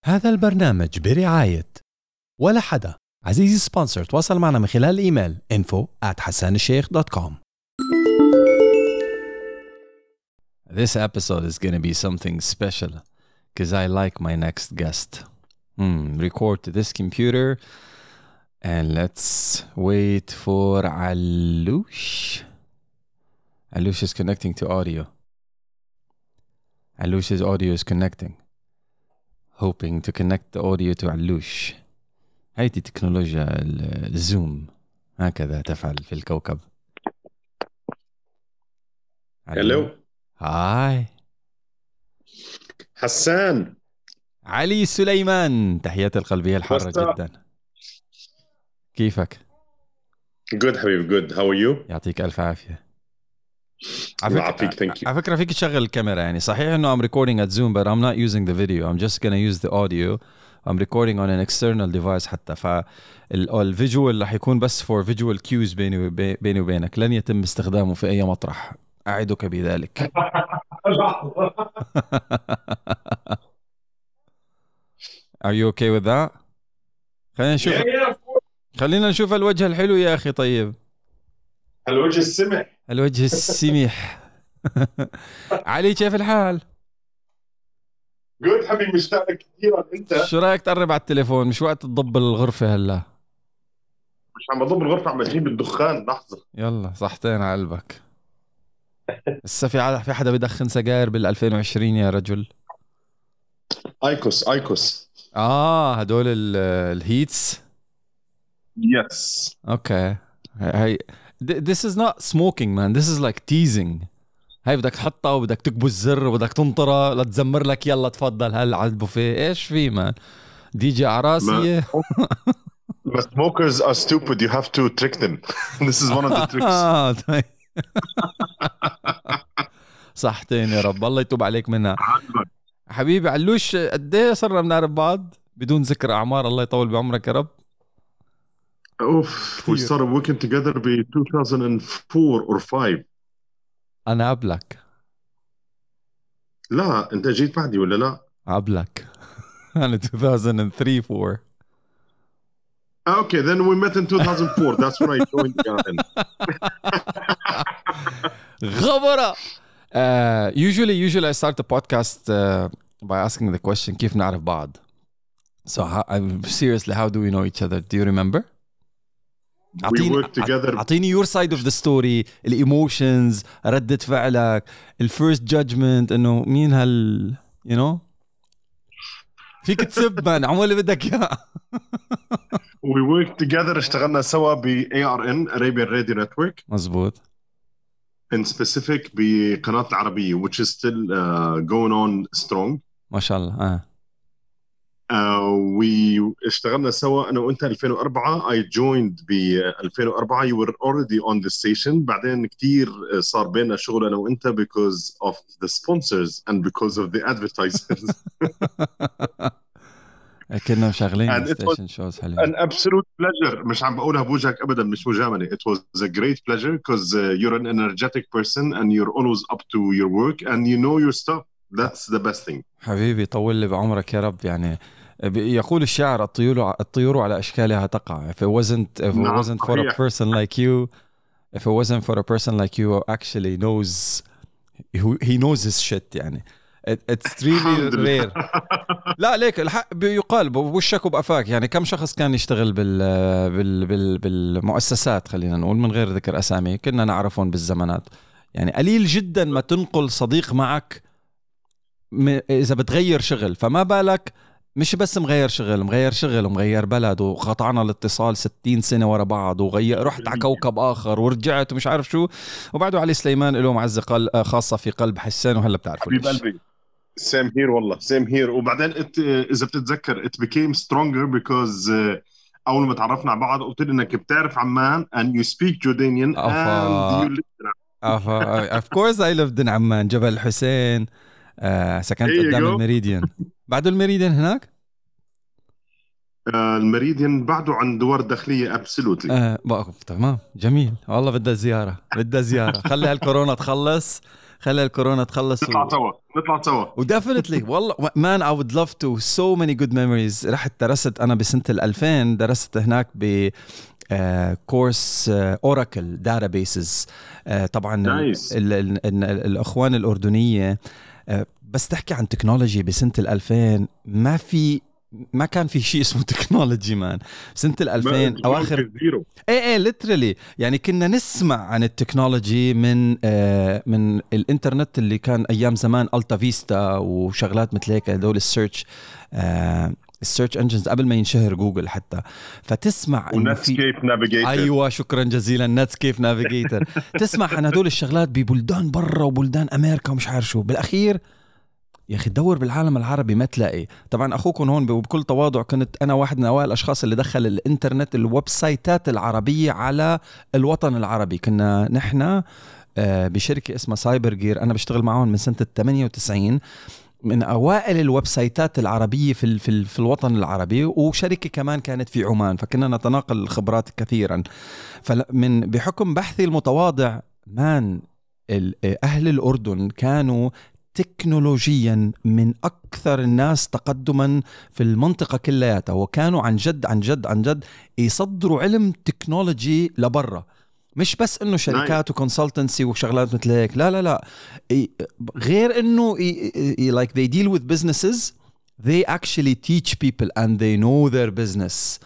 هذا البرنامج برعاية ولا حدا. عزيزي سبونسر، تواصل معنا من خلال الإيميل info@hassanalsheikh.com. This episode is going to be something special because I like my next guest. Record to this computer and let's wait for Alush. Alush is connecting to audio. Alush's audio is connecting. Hoping to connect the audio to Alush. هذه تكنولوجيا الزوم هكذا تفعل في الكوكب. هلو. هاي حسان. علي سليمان، تحياتي القلبية الحارة What's up? جدا. كيفك؟ Good حبيبي good. How are you? يعطيك ألف عافية. الله يعافيك. Thank you. على فكرة فيك تشغل الكاميرا، يعني صحيح إنه I'm recording at Zoom but I'm not using the video. I'm just gonna use the audio. I'm recording on an external device حتى. فالفيجوال رح يكون بس for visual cues بيني وبينك، لن يتم استخدامه في أي مطرح، أعدك بذلك. Are you okay with that? خلينا نشوف الوجه الحلو يا أخي. طيب الوجه السمح. الوجه السميح. علي كيف الحال؟ Good حبيبي، مشتاق لك كثيرا. انت شو رايك تقرب على التليفون؟ مش وقت تضب الغرفة هلا. مش عم بضب الغرفة، عم بجيب الدخان. لحظة. يلا صحتين على قلبك. لسه في حدا بدخن سجاير بال2020 يا رجل؟ ايكوس. هدول الهيتس. Yes. اوكي. هاي this is not smoking man, this is like teasing. هاي بدك تحطها وبدك تكبس الزر وبدك تنطرها لتزمر لك يلا تفضل هلا على البوفيه. ايش في مان؟ دي جي عراسية. But smokers are stupid. You have to trick them. This is one of the tricks. طيب. صحتين يا رب، الله يتوب عليك منها. حبيبي علوش، قد ايه صرنا بنعرف بعض بدون ذكر اعمار؟ الله يطول بعمرك يا رب. We started working together ب 2004 or 5. انا قبلك. لا انت جيت بعدي ولا لا؟ قبلك. أنا 2003 4. Okay, then we met in 2004. That's when I joined the garden. غبرة. Usually I start the podcast by asking the question كيف نعرف بعض. So seriously, how do we know each other? Do you remember? We worked together. أعطيني your side of the story. الإيموشنز، ردة فعلك، الفيرست judgment، إنه مين you know. فيك تسب من عمو اللي بدك إياه. We worked together. اشتغلنا سوا ب ARN Arabian Radio Network. مزبوط. In specific بقناة العربية which is still going on strong. ما شاء الله. اشتغلنا سوا أنا وأنت 2004. I joined ب 2004. You were already on the station. بعدين كتير صار بيننا شغل أنا وأنت because of the sponsors and because of the advertisers. كنا شغالين ستيشن شوز حلوين. An absolute pleasure. مش عم بقولها بوجهك أبدا، مش مجاملة. It was a great pleasure because you're an energetic person and you're always up to your work and you know your stuff. That's the best thing. حبيبي طول لي بعمرك يا رب. يعني يقول الشاعر الطيور على أشكالها تقع. If it wasn't for a person like you, if it wasn't for a person like you actually knows, he knows his shit. يعني it's really rare. لا ليك الحق يقال بوشك وبقفاك. يعني كم شخص كان يشتغل بالمؤسسات، خلينا نقول من غير ذكر أسامي، كنا نعرفهم بالزمانات. يعني قليل جدا ما تنقل صديق معك إذا بتغير شغل. فما بالك مش بس مغير شغل ومغير بلد، وقطعنا الاتصال 60 سنة ورا بعض، رحت على كوكب آخر ورجعت ومش عارف شو. وبعده علي سليمان له معزة خاصة في قلب حسان، وهلا بتعرفوا حبيب قلبي. Same here والله same here. وبعدين إذا بتتذكر it became stronger because أول ما تعرفنا على بعض قلت لي إنك بتعرف عمان and you speak Jordanian and you live in Of course I lived in عمان. جبل الحسين. سكنت قدام الميريديان. بعده الميريديان هناك؟ الميريديان بعده عند دوار الداخلية. absolutely. تمام جميل والله. بدها زيارة خلي هالكورونا تخلص، خلي الكورونا تخلص نطلع سوا وديفنتلي والله مان I would love to. so many good memories. رحت درست أنا بسنة 2000 درست هناك ب كورس اوراكل داتابيسز. طبعا الاخوان الاردنيه بس تحكي عن تكنولوجي بسنه 2000 ما كان في شيء اسمه تكنولوجي مان. سنه 2000 اواخر ايه ليترالي يعني كنا نسمع عن التكنولوجي من الانترنت اللي كان ايام زمان التا فيستا وشغلات مثل هيك هدول السيرش انجنز قبل ما ينشهر جوجل حتى. فتسمع ونتسكيب نافيجيتر. ايوه شكرا جزيلا نتسكيب نافيجيتر. تسمع عن هدول الشغلات ببلدان برا وبلدان امريكا ومش عارف شو. بالاخير يا اخي تدور بالعالم العربي ما تلاقي. طبعا اخوكم هون بكل تواضع كنت انا واحد من اوائل الاشخاص اللي دخل الانترنت الويب سايتات العربيه على الوطن العربي. كنا نحن بشركه اسمها سايبر جير، انا بشتغل معهم من سنه 98، من اوائل الويب سايتات العربيه في الوطن العربي، وشركه كمان كانت في عمان، فكنا نتناقل الخبرات كثيرا. فمن بحكم بحثي المتواضع مان اهل الاردن كانوا تكنولوجيا من أكثر الناس تقدما في المنطقة كلياتها، وكانوا عن جد يصدروا علم تكنولوجي لبرا. مش بس إنه شركات وكونسلتنسي وشغلات مثل هيك، لا غير إنه like they deal with businesses, they actually teach people and they know their business.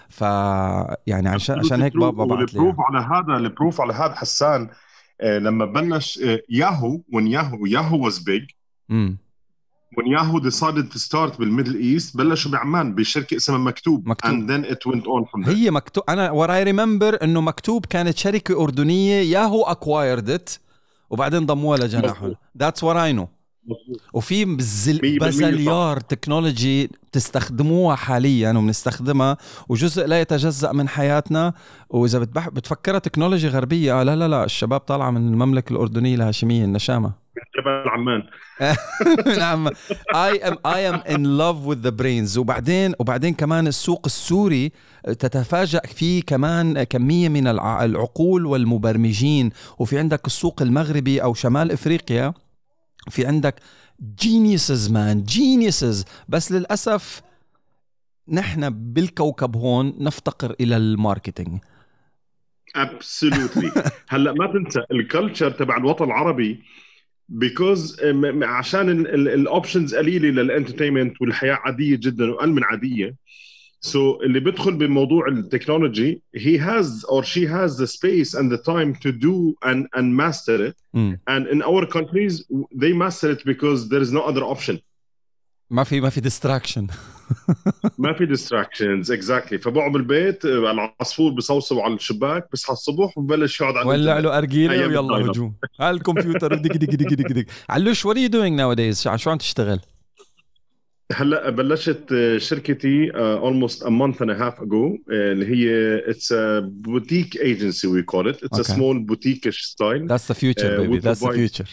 يعني عشان هيك بابا بعت لي البروف على هذا حسان. لما بلش ياهو when Yahoo was big when Yahoo decided to start بالميدل ايست بلشوا بعمان بشركه اسمها مكتوب and then it went on from there. هي مكتوب. انا what I remember انه مكتوب كانت شركه اردنيه، ياهو acquired it وبعدين ضموها لجناحهم. that's what I know. وفي بزليار تكنولوجي تستخدموها حاليا وبنستخدمها وجزء لا يتجزأ من حياتنا. وإذا بتفكرها تكنولوجي غربية لا الشباب طالعة من المملكة الأردنية الهاشمية النشامة من جبل عمان. نعم I am in love with the brains. وبعدين كمان السوق السوري تتفاجأ فيه كمان كمية من العقول والمبرمجين. وفي عندك السوق المغربي أو شمال إفريقيا في عندك geniuses. بس للأسف نحن بالكوكب هون نفتقر إلى الماركتينج. absolutely. هلأ ما تنسى الكالتشر تبع الوطن العربي because عشان الأوبشنز قليلة للانترتينمنت والحياة عادية جدا وأقل من عادية. So اللي بيدخل بموضوع التكنولوجي he has or she has the space and the time to do and master it. And in our countries they master it because there is no other option. ما في distraction. ما في distractions exactly. فبقعد بالبيت العصفور بصوصو على الشباك بصحى الصبح وببلش يقعد على ولع له أرجيلة ويلا هجوم على الكمبيوتر دق. علوش what are you doing nowadays؟ شو عم تشتغل؟ هلا بلشت شركتي almost a month and a half ago اللي هي it's a boutique agency we call it. It's a small boutique-ish style. That's the future baby. That's the future.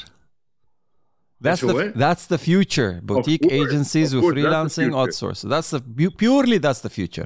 That's the future. Boutique agencies with freelancing outsource. That's the future.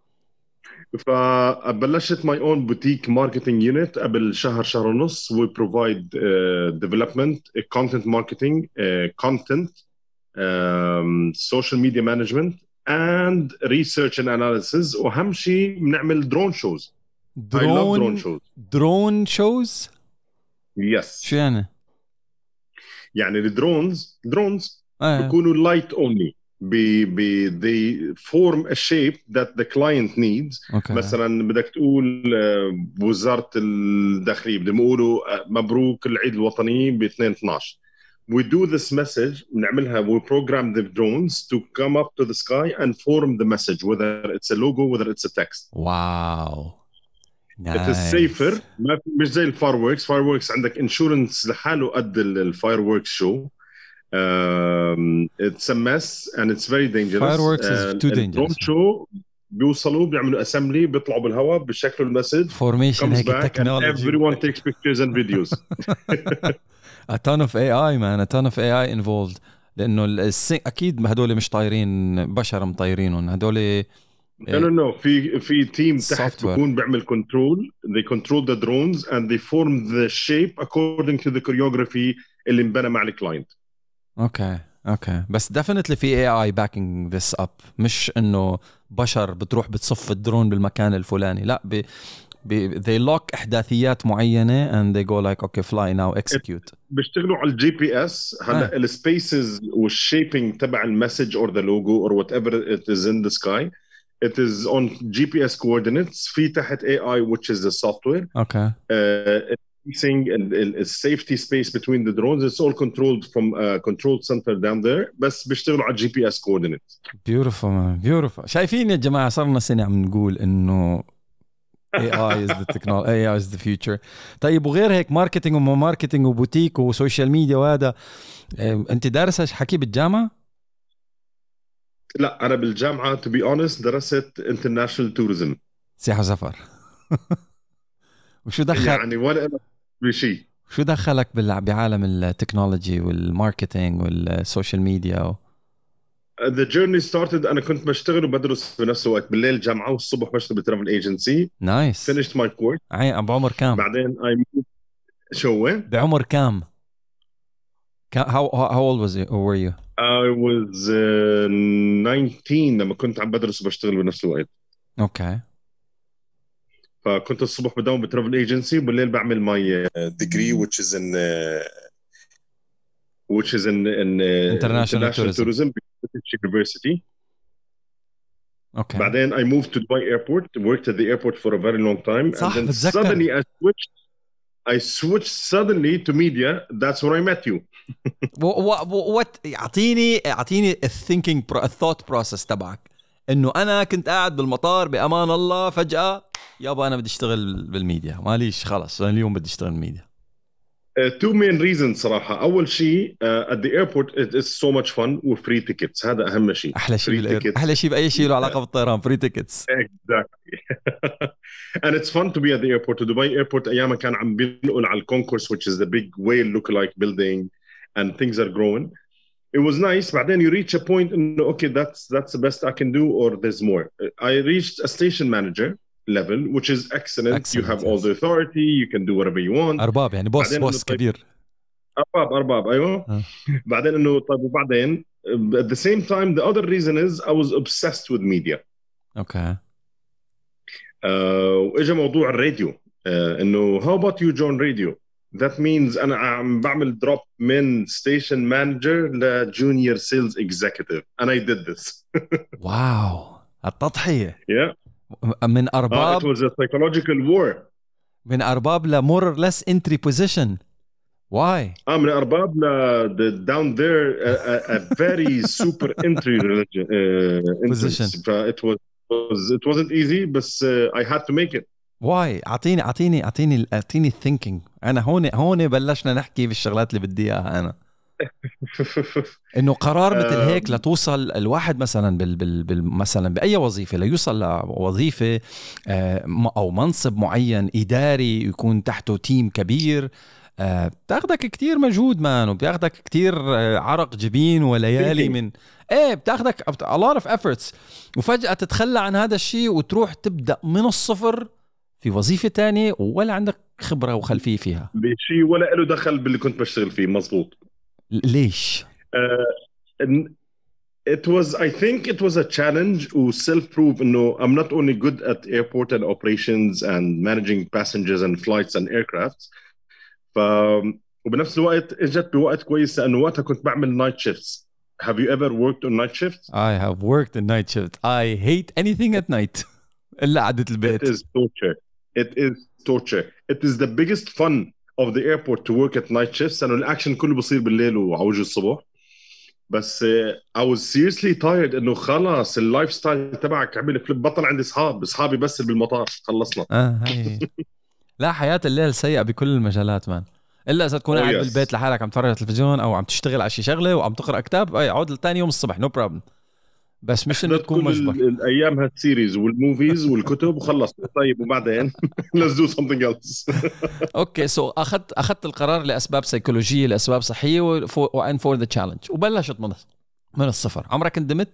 فبلشت my own boutique marketing unit قبل شهر ونص. We provide development, content marketing, content, social media management and research and analysis. وأهم شيء بنعمل drone shows. I love drone shows. Drone shows? Yes. شو يعني الدرونز بيكونوا light only. they form a shape that the client needs. Okay. مثلا بدك تقول وزارة الداخلية بدهم يقولوا مبروك العيد الوطني ب 2/12. We do this message بنعملها we program the drones to come up to the sky and form the message whether it's a logo whether it's a text. Wow. Nice. It is safer. مش زي fireworks عندك insurance لحاله قد الfireworks show. It's a mess and it's very dangerous. Fireworks is too dangerous. Drone show بيوصلوا بيعملوا assembly بيطلعوا بالهواء بشكل المسج formation هيك technology. Everyone takes pictures and videos. A ton of AI man, a ton of AI involved. لأنه أكيد هدول مش طايرين بشر مطيرينهم هدول. No. في تيم تحت بيكون بيعمل control. They control the drones and they form the shape according to the choreography اللي انبنى مع الكلاينت. اوكي بس definitely في AI backing this up، مش انه بشر بتروح بتصف الدرون بالمكان الفلاني، لا they lock احداثيات معينه and they go like okay fly now execute. بيشتغلوا على الجي بي اس. هلا السبيسز والشيبينج تبع المسج اور ذا لوجو or whatever it is in the sky it is on GPS coordinates. في تحت AI which is the software. Okay. Safety space between the drones, it's all controlled from a control center down there. بس بيشتغلوا على GPS coordinates. Beautiful man. Beautiful. شايفين يا جماعة صرنا سنة عم نقول إنه AI is the technology, AI is the future. طيب وغير هيك ماركتينج وما ماركتينج وبوتيك وسوشيال ميديا وهذا، أنت دارس حكي بالجامعة؟ لا أنا بالجامعة to be honest درست international tourism. سياحة وسفر. وشو دخل يعني ولا أنا بشيء. شو دخلك بعالم التكنولوجي والماركتينج والسوشيال ميديا The journey started أنا كنت بشتغل وبدرس بنفس الوقت، بالليل جامعة والصبح بشتغل بترافل ايجنسي. نايس. finished my course. بعمر كام؟ بعدين شو وين؟ بعمر كام؟ how old were you? I was 19 لما كنت عم بدرس وبشتغل بنفس الوقت. اوكي. فكنت الصبح بداوم بترافل ايجنسي وبالليل بعمل my degree which is in international tourism British University. Okay. بعدين I moved to Dubai airport, worked at the airport for a very long time. صح and then بتذكر. suddenly I switched suddenly to media. That's where I met you. what اعطيني الثought process تبعك، انه انا كنت قاعد بالمطار بامان الله فجأة يابا انا بدي اشتغل بالميديا، ماليش خلص اليوم بدي اشتغل بالميديا. Two main reasons صراحة. أول شيء at the airport it is so much fun و free tickets. هذا أهم شيء. أحلى شيء بأي شيء له علاقة بالطيران free tickets. Exactly. And it's fun to be at the airport. Dubai airport أيامها كان عم بينقل على الكونكورس which is the big whale look-alike building and things are growing. It was nice. بعدين you reach a point and okay that's the best I can do or there's more. I reached a station manager level which is excellent. You have all the authority, you can do whatever you want. أرباب يعني بوس كبير. أرباب أيوة. بعدين إنه طيب وبعدين at the same time the other reason is I was obsessed with media. Okay. وإجا موضوع الراديو. إنه how about you join radio? That means أنا عم بعمل drop من station manager ل junior sales executive and I did this. واو التضحية. Yeah. من أرباب. It was a psychological war. من أرباب ل more or less entry position. Why? من أرباب ل down there a very super entry position. It wasn't easy بس I had to make it. Why? أعطيني thinking. أنا هون بلشنا نحكي بالشغلات اللي بدي إياها أنا. إنه قرار مثل هيك لتوصل الواحد مثلا مثلا بأي وظيفة ليوصل لوظيفة أو منصب معين إداري يكون تحته تيم كبير، بتاخدك كتير مجهود مان، وبتاخدك كتير عرق جبين وليالي من بتاخدك a lot of efforts، وفجأة تتخلى عن هذا الشيء وتروح تبدأ من الصفر في وظيفة تانية ولا عندك خبرة وخلفية فيها بشيء ولا له دخل باللي كنت بشتغل فيه. مزبوط. ليش؟ I think it was a challenge و self-prove إنه I'm not only good at airport and operations and managing passengers and flights and aircrafts. وبنفس الوقت اجت بوقت كويس لانه وقتها كنت بعمل night shifts. Have you ever worked on night shifts? I have worked in night shift. I hate anything at night. إلا قعدة البيت. It is torture. It is the biggest fun of the airport to work at night shifts. لأنه الأكشن كله بصير بالليل وعوج الصبح. بس I was seriously tired إنه خلاص اللايف ستايل تبعك عمل فليب. بطل عندي أصحابي بس بالمطار خلصنا. هاي. لا حياة الليل سيئة بكل المجالات مان، إلا إذا تكون قاعد بالبيت لحالك عم تتفرج على التلفزيون أو عم تشتغل على شي شغلة وعم تقرأ كتاب عود لتاني يوم الصبح no problem. بس مش إنه تكون مجبر. الأيام هالسيريز والموفيز والكتب وخلص. طيب وبعدين let's do something else. أوكي so أخذت القرار لأسباب سيكولوجية لأسباب صحية and for the challenge وبلشت من الصفر. عمرك ندمت؟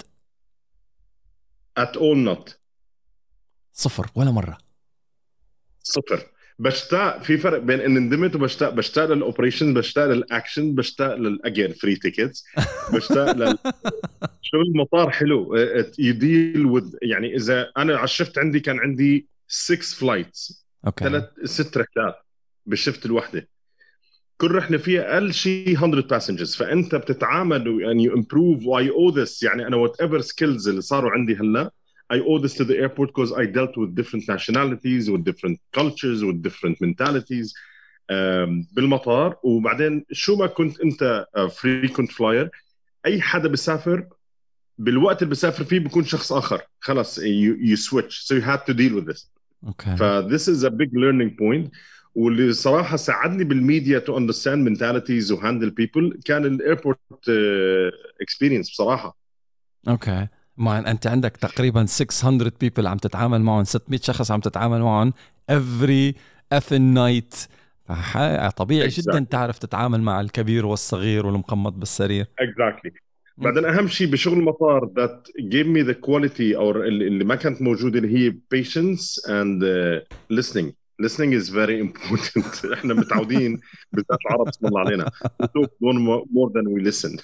At all not. صفر ولا مرة. صفر. بشتاق، في فرق بين ان ندمت وبشتاق. بشتاق للاوبريشن، بشتاق للاكشن، بشتاق للاجين فري تيكتس، بشتاق شغل المطار حلو. يديل وذ، يعني اذا انا على الشفت عندي كان عندي 6 فلايتس، اوكي 6 رحلات بالشفت الواحده. كل رحله فيها اقل شيء 100 باسنجرز، فانت بتتعامل يعني يو امبروف واي او ذس. يعني انا وات ايفر سكيلز اللي صاروا عندي هلا I owe this to the airport because I dealt with different nationalities with different cultures with different mentalities بالمطار. وبعدين شو ما كنت انت frequent flyer، اي حدا بيسافر بالوقت اللي بيسافر فيه بيكون شخص اخر. خلص you switch so you had to deal with this. اوكي. this is a big learning point. واللي صراحة ساعدني بالميديا to understand mentalities و handle people كان الايربورت experience بصراحة. اوكي. ما انت عندك تقريبا 600 people عم تتعامل معهم، 600 شخص عم تتعامل معهم every effing night. طبيعي جدا تعرف تتعامل مع الكبير والصغير والمقمط بالسرير. Exactly. بعدين اهم شيء بشغل المطار that gave me the quality او اللي ما كانت موجوده اللي هي patience and listening. Listening is very important. احنا متعودين بالذات العرب بسم الله علينا we talk more than we listen.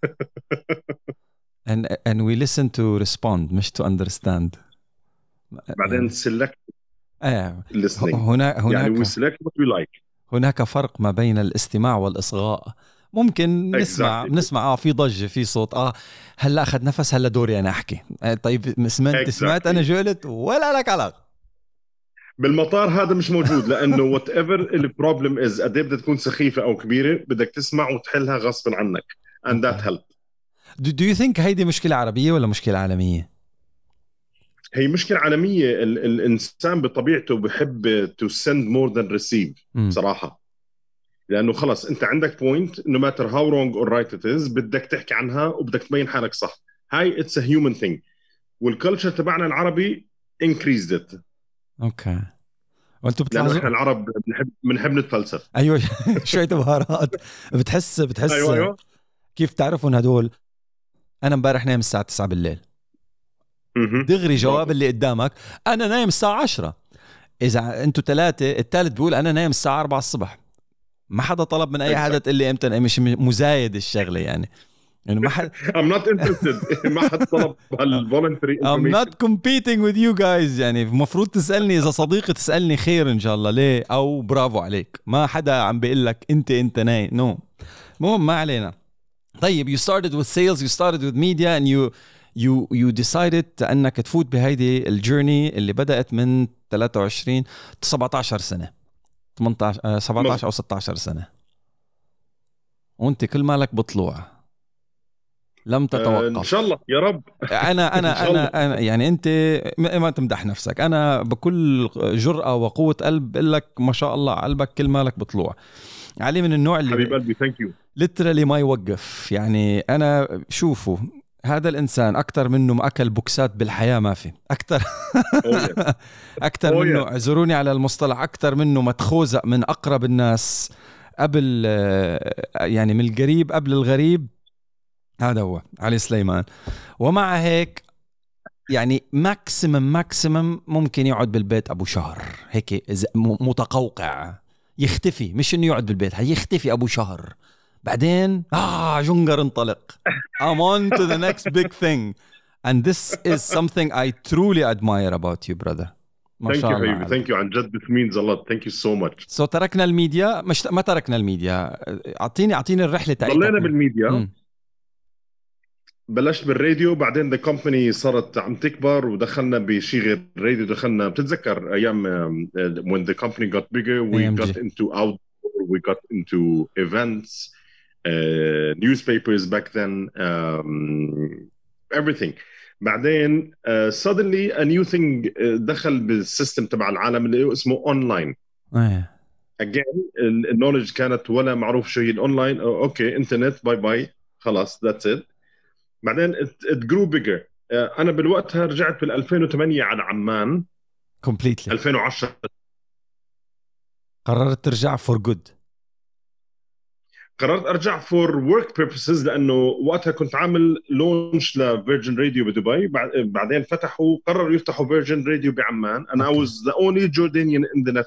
and we listen to respond مش to understand. بعدين select listening. هناك يعني we select what we like. هناك فرق ما بين الاستماع والإصغاء. ممكن نسمع في ضجة، في صوت، هلا أخذ نفس، هلا دوري أنا أحكي. طيب سمعت أنا جولت ولا لك علاقة. بالمطار هذا مش موجود، لأنه whatever البروبلم is قد بدها تكون سخيفة أو كبيرة بدك تسمع وتحلها غصبا عنك and that helped. Do you think هيدي مشكلة عربية ولا مشكلة عالمية؟ هي مشكلة عالمية. الإنسان بطبيعته بحب to send more than receive بصراحة. لأنه خلص أنت عندك point no matter how wrong or right it is بدك تحكي عنها وبدك تبين حالك صح. هاي it's a human thing. والكلتشر تبعنا العربي increased it. اوكي. وانتم بتلاحظوا احنا العرب بنحب نتفلسف. ايوه شوية بهارات. بتحس أيوة. كيف تعرفون هدول؟ انا امبارح نايم الساعة 9 بالليل. دغري جواب اللي قدامك انا نايم الساعة 10. اذا انتوا 3 الثالث بيقول انا نايم الساعة 4 الصبح. ما حدا طلب من اي حدا تقول لي امتى. مش مزايد الشغله يعني ما حد I'm not interested. ما حد طلب هالvoluntary information. I'm not competing with you guys. يعني المفروض تسالني اذا صديقي تسالني خير ان شاء الله ليه او برافو عليك. ما حدا عم بيقول لك انت نايم نو. المهم ما علينا. طيب you started with sales, you started with media and you decided انك تفوت بهيدي الجيرني اللي بدات من 17 سنه 17 أو 16 سنة وانت كل مالك بطلوع لم تتوقف. ان شاء الله يا رب. أنا يعني انت ما تمدح نفسك. انا بكل جرأة وقوة قلب بقول لك ما شاء الله قلبك كل مالك بطلوع. علي من النوع اللي حبيب قلبي ثانك يو ليترالي ما يوقف. يعني انا شوفوا هذا الإنسان أكتر منه ما أكل بوكسات بالحياة ما في أكتر. أكتر منه اعذروني على المصطلح أكتر منه ما تخوزق من أقرب الناس قبل يعني من القريب قبل الغريب. هذا هو علي سليمان. ومع هيك يعني ماكسيمم ممكن يقعد بالبيت أبو شهر هيك متقوقع يختفي. مش إنه يقعد بالبيت يختفي أبو شهر بعدين جنجر انطلق. I'm on to the next big thing and this is something I truly admire about you brother. ما شاء الله. Thank you عن جد. This means a lot. Thank you so much. So تركنا الميديا ما تركنا الميديا. أعطيني الرحلة تاعتك. ضلينا بالميديا. بلشت بالراديو بعدين the company صارت عم تكبر ودخلنا بشيء غير الراديو. دخلنا بتتذكر أيام when the company got bigger we got into outdoor, we got into events. Newspapers back then everything. بعدين suddenly a new thing دخل بالسيستم تبع العالم اللي اسمه online. again النولج كانت ولا معروف شو هي الاونلاين. اوكي انترنت باي باي خلاص that's it. بعدين it grew bigger. انا بالوقتها رجعت بال 2008 على عمان completely. 2010 قررت ترجع for good. قررت ارجع for work purposes لانه وقتها كنت عامل لونش لفيرجن راديو بدبي. بعدين قرروا يفتحوا فيرجن راديو بعمان and I was the only Jordanian in the network.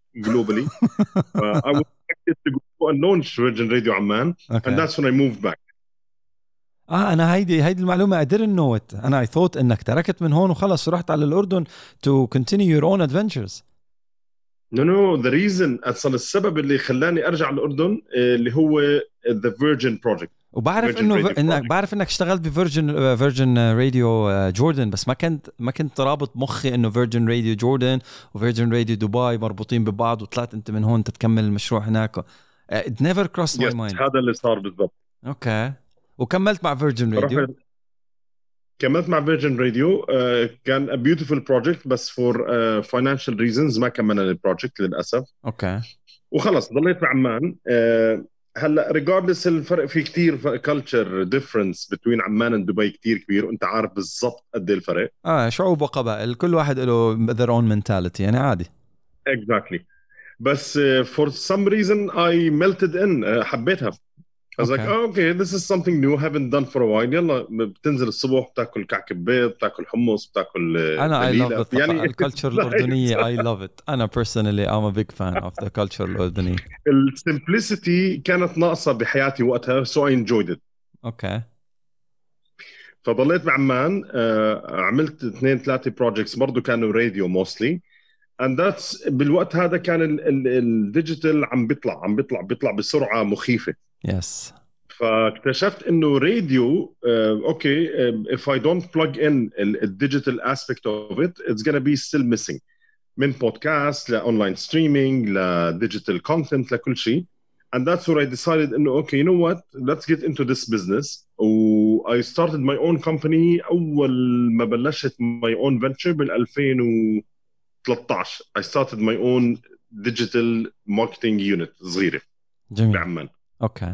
globally. I was expected to go and launch Virgin Radio Amman, and that's when I moved back. أنا هيدي المعلومة I didn't know it. أنا I thought إنك تركت من هون وخلص ورحت على الأردن to continue your own adventures. No, the reason أصلا السبب اللي خلاني أرجع الأردن اللي هو the Virgin Project. وبعرف بعرف إنك اشتغلت بفيرجن راديو جوردن، بس ما كنت رابط مخي إنه فيرجن راديو جوردن وفيرجن راديو دبي مربوطين ببعض، وطلعت أنت من هون تتكمل المشروع هناك. It never crossed my mind. هذا اللي صار بالضبط. أوكي. وكملت مع فيرجن راديو. كملت مع فيرجن راديو. كان a beautiful project بس for financial reasons ما كملنا البروجكت للأسف. أوكي. وخلص ضليت بعمان. هلا regardless الفرق في كتير culture difference between عمان ودبي كتير كبير، وانت عارف بالضبط قد ايه الفرق. شعوب وقبائل كل واحد له their own mentality، يعني عادي. Exactly. بس for some reason I melted in. حبيتها. I was like, okay, this is something new, haven't done for a while. يلا بتنزل الصبح بتاكل كعك بيض، بتاكل حمص، بتاكل أنا I love it. يعني الكالتشر الأردنية I love it. أنا personally I'm a big fan of the culture الأردنية. السمبlicity كانت ناقصة بحياتي وقتها so I enjoyed it. أوكي. فضليت بعمان. عملت 2-3 projects برضو كانوا راديو mostly. and that's بالوقت هذا كان الديجيتال عم بيطلع بسرعة مخيفة. Yes. فاكتشفت انه راديو اوكي if I don't plug in the digital aspect of it it's gonna be still missing. من بودكاست لاونلاين ستريمينج لديجيتال كونتنت لكل شيء. and that's where I decided انه okay, you know what, let's get into this business. I started my own company. اول ما بلشت my own venture بال 2013 I started my own digital marketing unit صغيرة بعمان. Okay.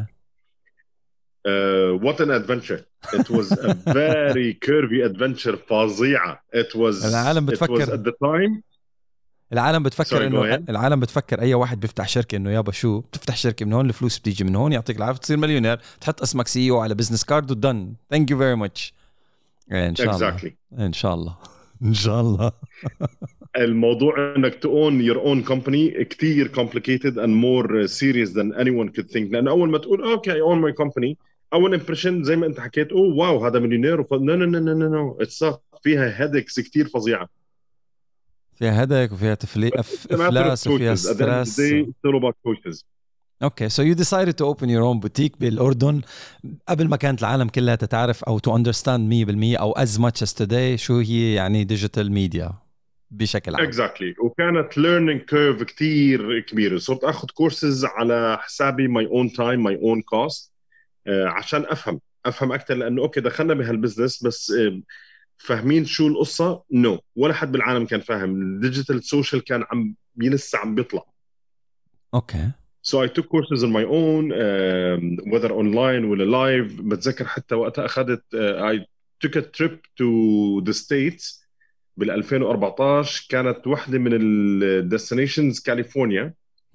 What an adventure. It was a very curvy adventure فظيعة. It was at the time. العالم بتفكر أي واحد بيفتح شركة إنه يابا شو بتفتح شركة من هون، الفلوس بتيجي من هون، يعطيك العافية تصير مليونير، تحط اسمك CEO على بزنس كارد ودن. Thank you very much. إن شاء الله. إن شاء الله. إن شاء الله. الموضوع إنك to own your own company كتير complicated and more serious than anyone could think. لأن أول ما تقول okay I own my company أول impression زي ما أنت حكيت واو هذا مليونير. no it's not. فيها headaches كتير فظيعة. فيها هدك وفيها إفلاس وفيها ستريس. Okay, so you decided to open your own boutique بالأردن قبل ما كانت العالم كلها تتعرف أو to understand 100% أو as much as today شو هي يعني digital media بشكل عام. Exactly. وكانت learning curve كتير كبيرة. صرت أخذ courses على حسابي my own time my own cost عشان أفهم أكتر. لأنه أوكي دخلنا بهالبزنس بس فاهمين شو القصة؟ no. ولا حد بالعالم كان فاهم. الديجيتال سوشيال كان لسه عم بيطلع. Okay. So I took courses on my own whether online ولا live. بتذكر حتى وقتها أخذت I took a trip to the States بال 2014. كانت واحدة من الديستنيشنز كاليفورنيا.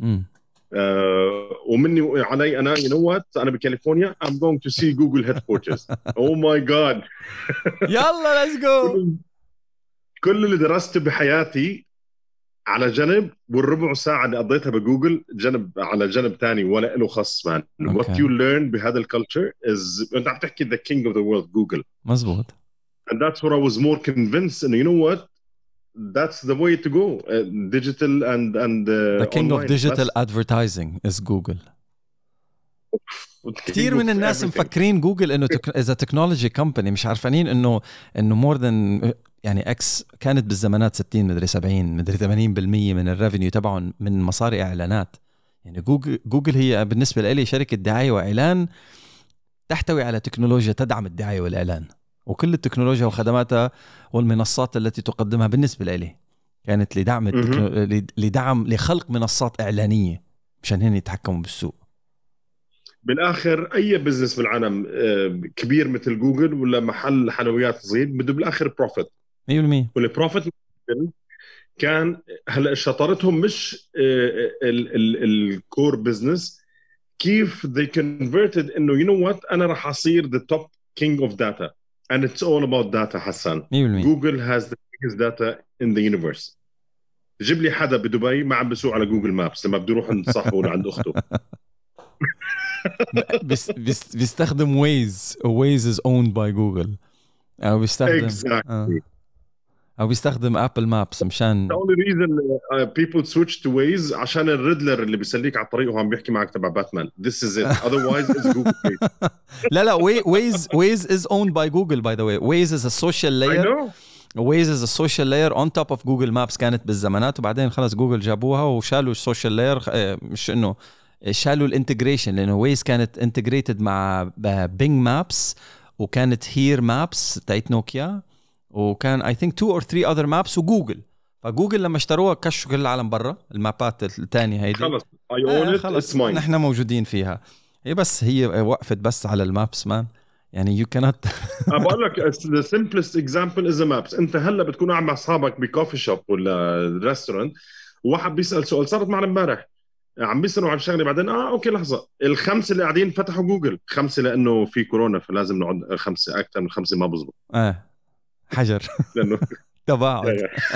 ومني علي أنا you know what أنا بكاليفورنيا I'm going to see Google headquarters. Oh my God. يلا let's go. كل اللي درسته بحياتي على جنب والربع ساعة اللي قضيتها بجوجل على جنب تاني ولا له خص man. What you learn بهذا الكالتشر is أنت عم تحكي the king of the world Google. مزبوط. And that's where I was more convinced and you know what, that's the way to go. Digital and the king online. of digital advertising is Google. كثير من الناس مفكرين جوجل انه as a technology company مش عارفين انه more than يعني اكس كانت بالزمانات 60 مدري 70 مدري 80% من الريفينيو تبعهم من مصاري اعلانات. يعني جوجل هي بالنسبه لي شركه دعايه واعلان تحتوي على تكنولوجيا تدعم الدعايه والاعلان، وكل التكنولوجيا وخدماتها والمنصات التي تقدمها بالنسبه لي كانت لدعم لخلق منصات اعلانيه مشان هن يتحكموا بالسوق. بالاخر اي بزنس بالعالم كبير مثل جوجل ولا محل حلويات صغير بده بالاخر بروفيت 100%. والبروفيت كان هلا شطارتهم مش الكور بزنس، كيف they converted انه you know what انا راح اصير the top king of data and it's all about data. حسن 100%. Google has the biggest data in the universe. جيب لي حدا بدبي ما عم بسوق على جوجل مابس لما بده يروح عند صاحبه ولا عند اخته. بيستخدم ويز از owned by جوجل، او بيستخدم exactly. او بيستخدم ابل مابس مشان the only reason people switch to Waze عشان الريدلر اللي بيسليك على الطريق وعم بيحكي معك تبع باتمان. this is it, otherwise it's Google Waze. لا Waze is owned by Google by the way. Waze is a social layer. I know. Waze is a social layer on top of Google Maps كانت بالزمانات، وبعدين خلص جوجل جابوها وشالوا السوشيال لاير، مش انه شالوا الانتجريشن، لانه ويز كانت انتجريتد مع بينج مابس وكانت هير مابس تاعت نوكيا، وكان اي ثينك 2 or 3 other maps وجوجل. فجوجل لما اشتروها كشوا كل العالم برا المابات الثانيه هيدي. خلص I own it, خلص it's mine. نحن موجودين فيها. هي وقفت بس على المابس مان، يعني you cannot. بقول لك the simplest example is a maps. انت هلا بتكون قاعد مع اصحابك بكوفي شوب ولا ريستورانت، وواحد بيسال سؤال، صارت معنا امبارح، عم بيسالوا عن شغله، بعدين اوكي لحظه، الخمسه اللي قاعدين فتحوا جوجل، خمسه لانه في كورونا فلازم نقعد خمسه، اكثر من خمسه ما بزبط حجر لانه تباعد.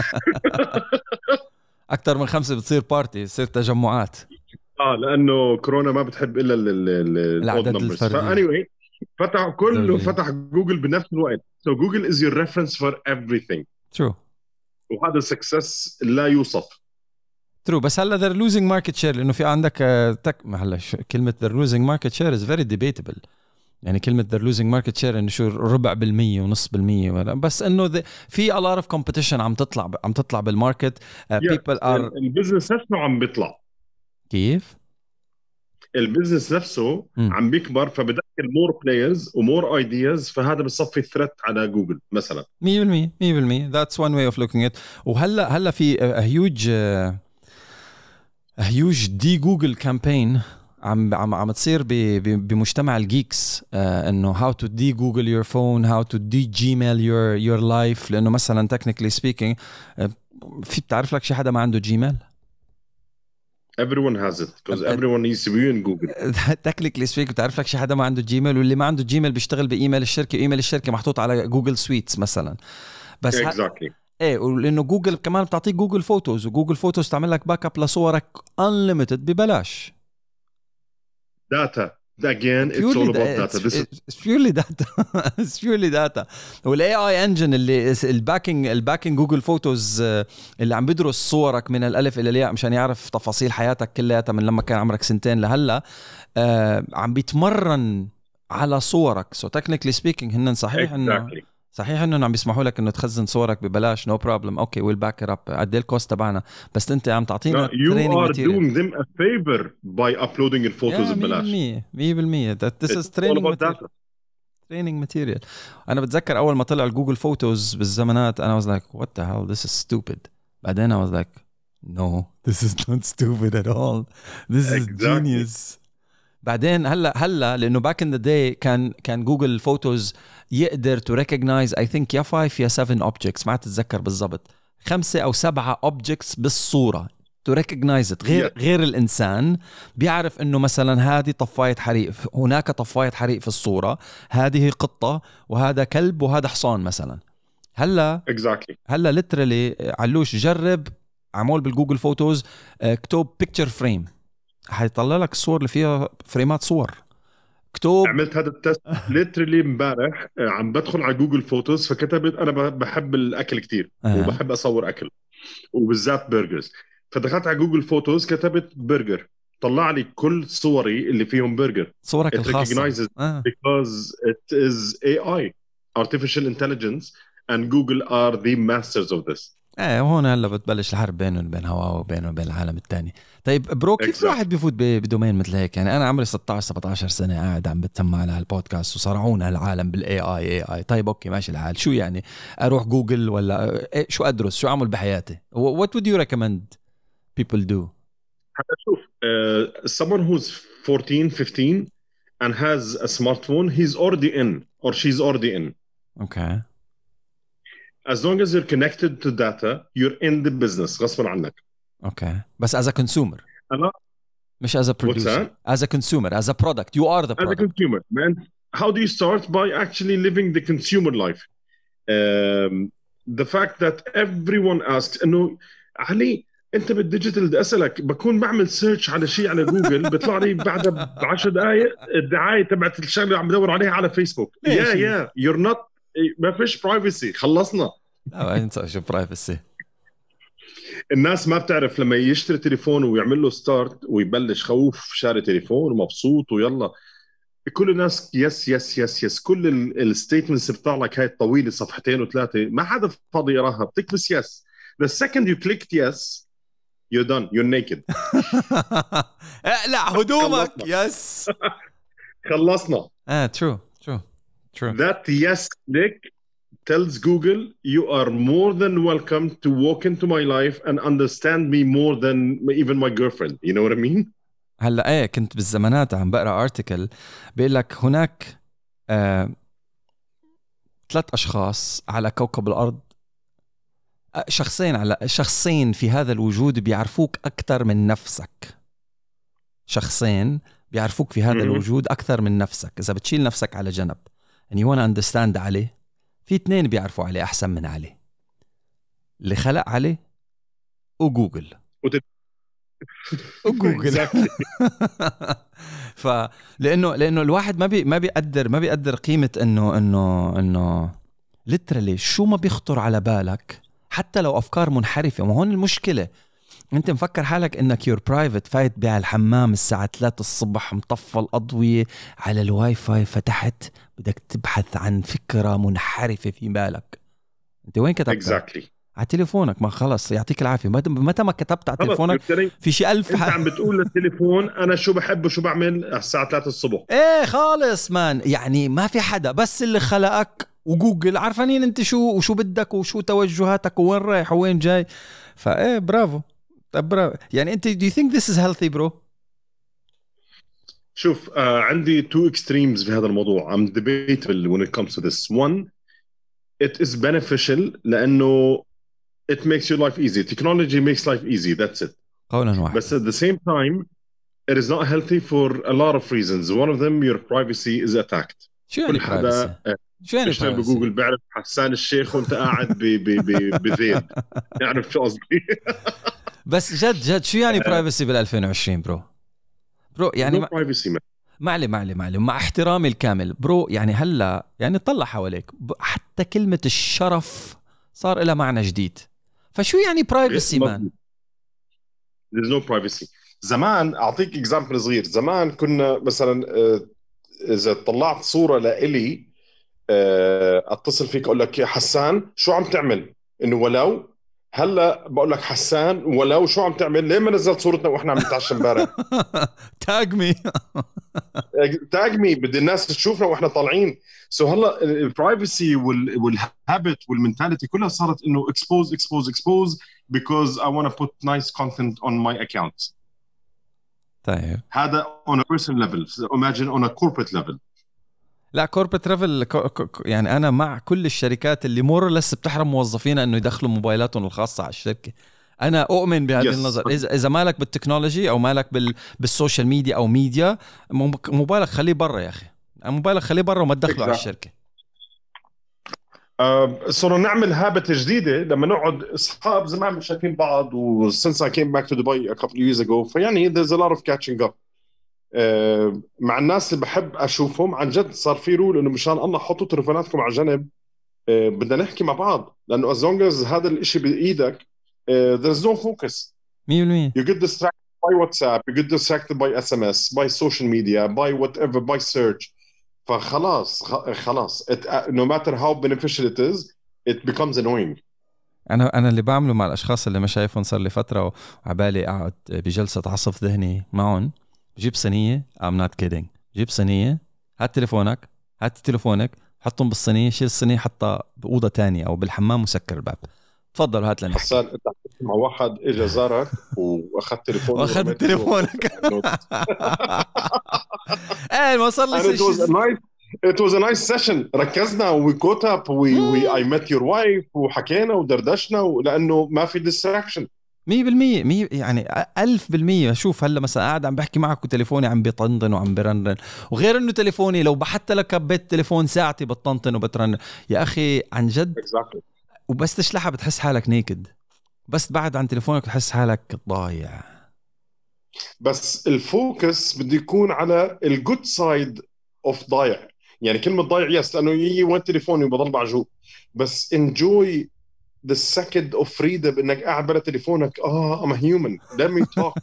اكثر من 5 بتصير بارتي، بتصير تجمعات. لانه كورونا ما بتحب الا العدد الفردي. فاني فتح جوجل بنفس الوقت. so Google is your reference for everything. true. وهذا success لا يوصف. true. بس هلا they're losing market share، لانه في عندك هلا كلمه they're losing market share is very debatable. يعني كلمة they're losing market share إنه شو 0.4% ونص%، بس إنه في a lot of competition عم تطلع بالماركت. people are البزنس نفسه عم بيطلع. كيف؟ البزنس نفسه عم بيكبر، فبدخل more players ومور ideas، فهذا بصفي threat على جوجل مثلا. 100% that's one way of looking at. وهلا في a huge دي جوجل campaign عم تصير بمجتمع الجيكس، انه how to de Google your phone, how to de Gmail your life. لانه مثلا technically speaking في بتعرف لك شي حدا ما عنده جيميل؟ everyone has it because everyone needs to be in Google. technically speaking بتعرف لك شي حدا ما عنده جيميل، واللي ما عنده جيميل بيشتغل بايميل الشركه، وايميل الشركه محطوط على جوجل سويتس مثلا. بس exactly. ولانه جوجل كمان بتعطيك جوجل فوتوز، وجوجل فوتوز تعمل لك باك اب لصورك unlimited ببلاش. data again, it's all about data. It's purely data. It's purely data. والاي اي انجن اللي الباكينج جوجل فوتوز اللي عم بدرس صورك من الالف الى الياء مشان يعرف تفاصيل حياتك كلها من لما كان عمرك 2 لهلا، عم بيتمرن على صورك. so technically speaking هن صحيح انه صحيح انه عم بيسمحوا لك انه تخزن صورك ببلاش no problem. اوكي we'll back it up. قد ايه الكوست تبعنا؟ بس انت عم تعطينا you are doing them a favor by uploading الفوتوز ببلاش. 100% this is training material. انا بتذكر اول ما طلع الجوجل فوتوز بالزمانات انا was like what the hell this is stupid. بعدين I was like no this is not stupid at all, this is genius. بعدين هلا لانه باك ان ذا داي كان جوجل فوتوز يقدر تو ريكوجنايز اي ثينك يا 5 يا 7 اوبجكتس، ما اتذكر بالضبط، 5 أو 7 اوبجكتس بالصوره تو ريكوجنايز غير الانسان بيعرف انه مثلا هذه طفايه حريق، هناك طفايه حريق في الصوره، هذه قطه وهذا كلب وهذا حصان مثلا. هلا ليترالي علوش جرب عمول بالجوجل فوتوز اكتب بيكتشر فريم، حيطلع لك الصور اللي فيها فريمات صور. اكتب عملت هذا التست ليترلي امبارح، عم بدخل على جوجل فوتوز، فكتبت انا بحب الاكل كتير وبحب اصور اكل وبالذات برجرز، فدخلت على جوجل فوتوز كتبت برجر، طلع لي كل صوري اللي فيهم برجر، صورك الخاصة because it is AI artificial intelligence and Google are the masters of this. وهون هلا بتبلش الحرب بينه وبين هواوي وبينه وبين العالم الثاني. طيب برو كيف الواحد بيفوت بدومين مثل هيك؟ يعني انا عمري 16-17 سنه قاعد عم بتسمع على هالبودكاست وصرعونا العالم بالاي اي. طيب اوكي ماشي الحال، شو يعني اروح جوجل ولا شو ادرس، شو اعمل بحياتي؟ what would you recommend people do؟ شوف someone who's 14-15 and has a smartphone, he's already in or she's already in. Okay. As long as you're connected to data, you're in the business غصبا عنك. Okay. بس as a consumer. مش as a producer. As a consumer, as a product. You are the product. As a consumer. Man, how do you start? By actually living the consumer life. The fact that everyone asks, إنه علي انت بالديجيتال بدي اسالك، بكون بعمل سيرش على شيء على جوجل بيطلع لي بعدها ب10 دقائق الدعايه تبعت الشغله اللي عم بدور عليها على فيسبوك. ماشي. يا يور نوت، ما فيش برايفسي، خلصنا. لا انت شو برايفسي. الناس ما بتعرف لما يشتري تليفون ويعمل له ستارت ويبلش خوف شاري تليفون ومبسوط ويلا، كل الناس يس يس يس يس، كل الستيتمنتس بتطلع لك هاي الطويله صفحتين وثلاثه ما حدا فاضي يراها، بتكبس يس. The second you clicked yes you're done, you're naked. اقلع هدومك. يس. خلصنا. true. That yes click tells Google you are more than welcome to walk into my life and understand me more than even my girlfriend. You know what I mean? هلا كنت بالزمانات عم بقرا ارتكل بيقول لك هناك 3 أشخاص على كوكب الأرض، شخصين في هذا الوجود بيعرفوك أكثر من نفسك. شخصين بيعرفوك في هذا الوجود أكثر من نفسك. إذا بتشيل نفسك على جنب and you wanna understand عليه، في 2 بيعرفوا عليه أحسن من عليه، اللي خلق عليه وجوجل. وجوجل. لأنه الواحد ما بيقدر قيمة إنه literally شو ما بيخطر على بالك، حتى لو أفكار منحرفة. وهون المشكلة، أنت مفكر حالك إنك you're private، فايت بالحمام الساعة 3 الصبح مطفى الأضوية على الواي فاي، فتحت بدك تبحث عن فكرة منحرفة في بالك. أنت وين كتبتها؟ على تليفونك. ما خلص يعطيك العافية، متى ما كتبت على تليفونك في شيء 1000 انت عم بتقول للتليفون انا شو بحب وشو بعمل الساعة 3 الصبح. خالص مان، يعني ما في حدا، بس اللي خلقك وجوجل عارفانين انت شو بدك وشو توجهاتك وين رايح وين جاي. برافو. طب برافو. يعني انت do you think this is healthy bro؟ شوف عندي 2 extremes في هذا الموضوع. I'm debatable when it comes to this. One, it is beneficial لأنه it makes your life easy. Technology makes life easy. That's it. قولا واحد. But at the same time, it is not healthy for a lot of reasons. One of them, your privacy is attacked. شو يعني privacy؟ شو يعني privacy؟ بجوجل بيعرف حسان الشيخ وانت قاعد بذيل. يعرف شو قصدي. بس جد شو يعني privacy بال2020 برو يعني معلي مع احترامي الكامل برو. يعني هلا يعني طلع حواليك حتى كلمة الشرف صار لها معنى جديد. فشو يعني privacy man؟ There's no privacy. زمان أعطيك example صغير. زمان كنا مثلا إذا طلعت صورة لإلي أتصل فيك أقول لك يا حسان شو عم تعمل؟ إنه ولو. هلا بقول لك حسان ولو شو عم تعمل؟ ليه ما نزلت صورتنا وإحنا عم نتعشى امبارح؟ تاج مي بدي الناس تشوفنا وإحنا طالعين. سو هلا البرايفسي والهابت والمنتاليتي كلها صارت إنه expose because I want to put nice content on my account. طيب هذا on a personal level. Imagine on a corporate level. لا corporate level يعني أنا مع كل الشركات اللي more or less بتحرم موظفينها إنه يدخلوا موبايلاتهم الخاصة على الشركة. أنا أؤمن بهذه النظر. إذا مالك بالتكنولوجي أو مالك بالسوشيال ميديا أو ميديا، موبايلك خليه برا يا أخي. موبايلك خليه برا وما تدخله على الشركة. صرنا نعمل هابت جديدة لما نقعد أصحاب زمان مش شايفين بعض. و since I came back to Dubai a couple of years ago فيعني there's a lot of catching up. مع الناس اللي بحب أشوفهم عن جد صار في رول إنه مشان الله حطوا تلفوناتكم على جنب. بدنا نحكي مع بعض لأنه as long as هذا الإشي بإيدك there's no focus. 100%. You get distracted by WhatsApp, you get distracted by SMS, by social media, by whatever, by search. فخلاص no matter how beneficial it is it becomes annoying. أنا اللي بعمله مع الأشخاص اللي ما شايفهم صار لي فترة وعبالي أقعد بجلسة عصف ذهني معهم، بجيب صينية I'm not kidding، جيب صينية، هات تليفونك حطهم بالصينية، شيل الصينية حطها بأوضة تانية أو بالحمام وسكر الباب. تفضل هات لنا. حسان انت مع واحد اجى زارك واخذت تليفونه واخذت تليفونك. ما صار لي شيء. It was a nice session. ركزنا we caught up I met your wife وحكينا ودردشنا لأنه ما في distraction. 100% يعني 1000%. شوف هلا مثلا قاعد عم بحكي معك وتليفوني عم بيطنطن وعم برنن، وغير انه تليفوني لو حتى لك كبيت تليفون ساعتي بتطنطن وبترن يا اخي عن جد. exactly. وبس تشلحها بتحس حالك نيكد. بس بعد عن تليفونك تحس حالك ضايع. بس الفوكس بده يكون على الجود سايد اوف ضايع. يعني كلمه ضايع يس، لانه يجي وين تليفوني وبضل معجوب، بس انجوي the second of freedom انك قاعد بلا تليفونك. I'm a human, let me talk.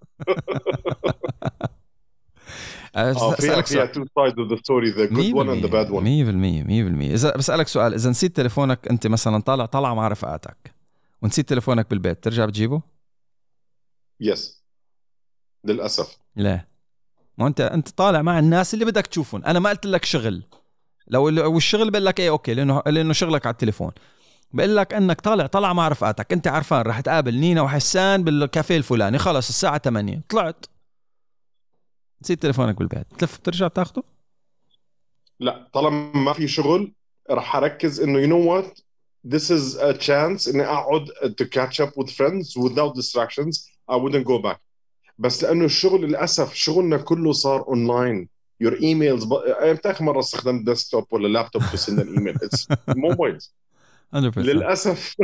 أسألك فيها سؤال. two sides of the story, the good one and the bad one. 100%. إذا بسألك سؤال، إذا نسيت تليفونك أنت مثلا طالع مع رفقاتك ونسيت تليفونك بالبيت، ترجع بتجيبه؟ يس للأسف. لا، ما أنت طالع مع الناس اللي بدك تشوفهم. أنا ما قلت لك شغل، لو الشغل بقول لك إيه أوكي، لأنه شغلك على التليفون. بقول لك انك طالع مع رفقاتك، انت عارفان رح تقابل نينا وحسان بالكافيه الفلاني، خلص الساعه 8 طلعت، نسيت تليفونك بالبيت، تلف بترجع بتاخده؟ لا، طالما ما في شغل رح أركز إنه you know what, this is a chance إني أقعد to catch up with friends without distractions. I wouldn't go back. بس لأنه الشغل للأسف شغلنا كله صار أونلاين. your emails أمتى آخر مرة استخدمت ديسكتوب ولا لابتوب to send an email؟ it's mobiles 100% للأسف.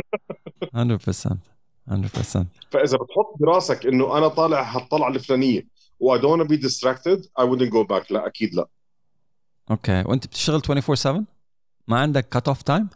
100%. فإذا بتحط براسك إنه أنا طالع هالطلعة الفلانية و I don't want to be distracted, I wouldn't go back. لا أكيد لا. اوكي، وانت بتشتغل 24/7 ما عندك cut off time؟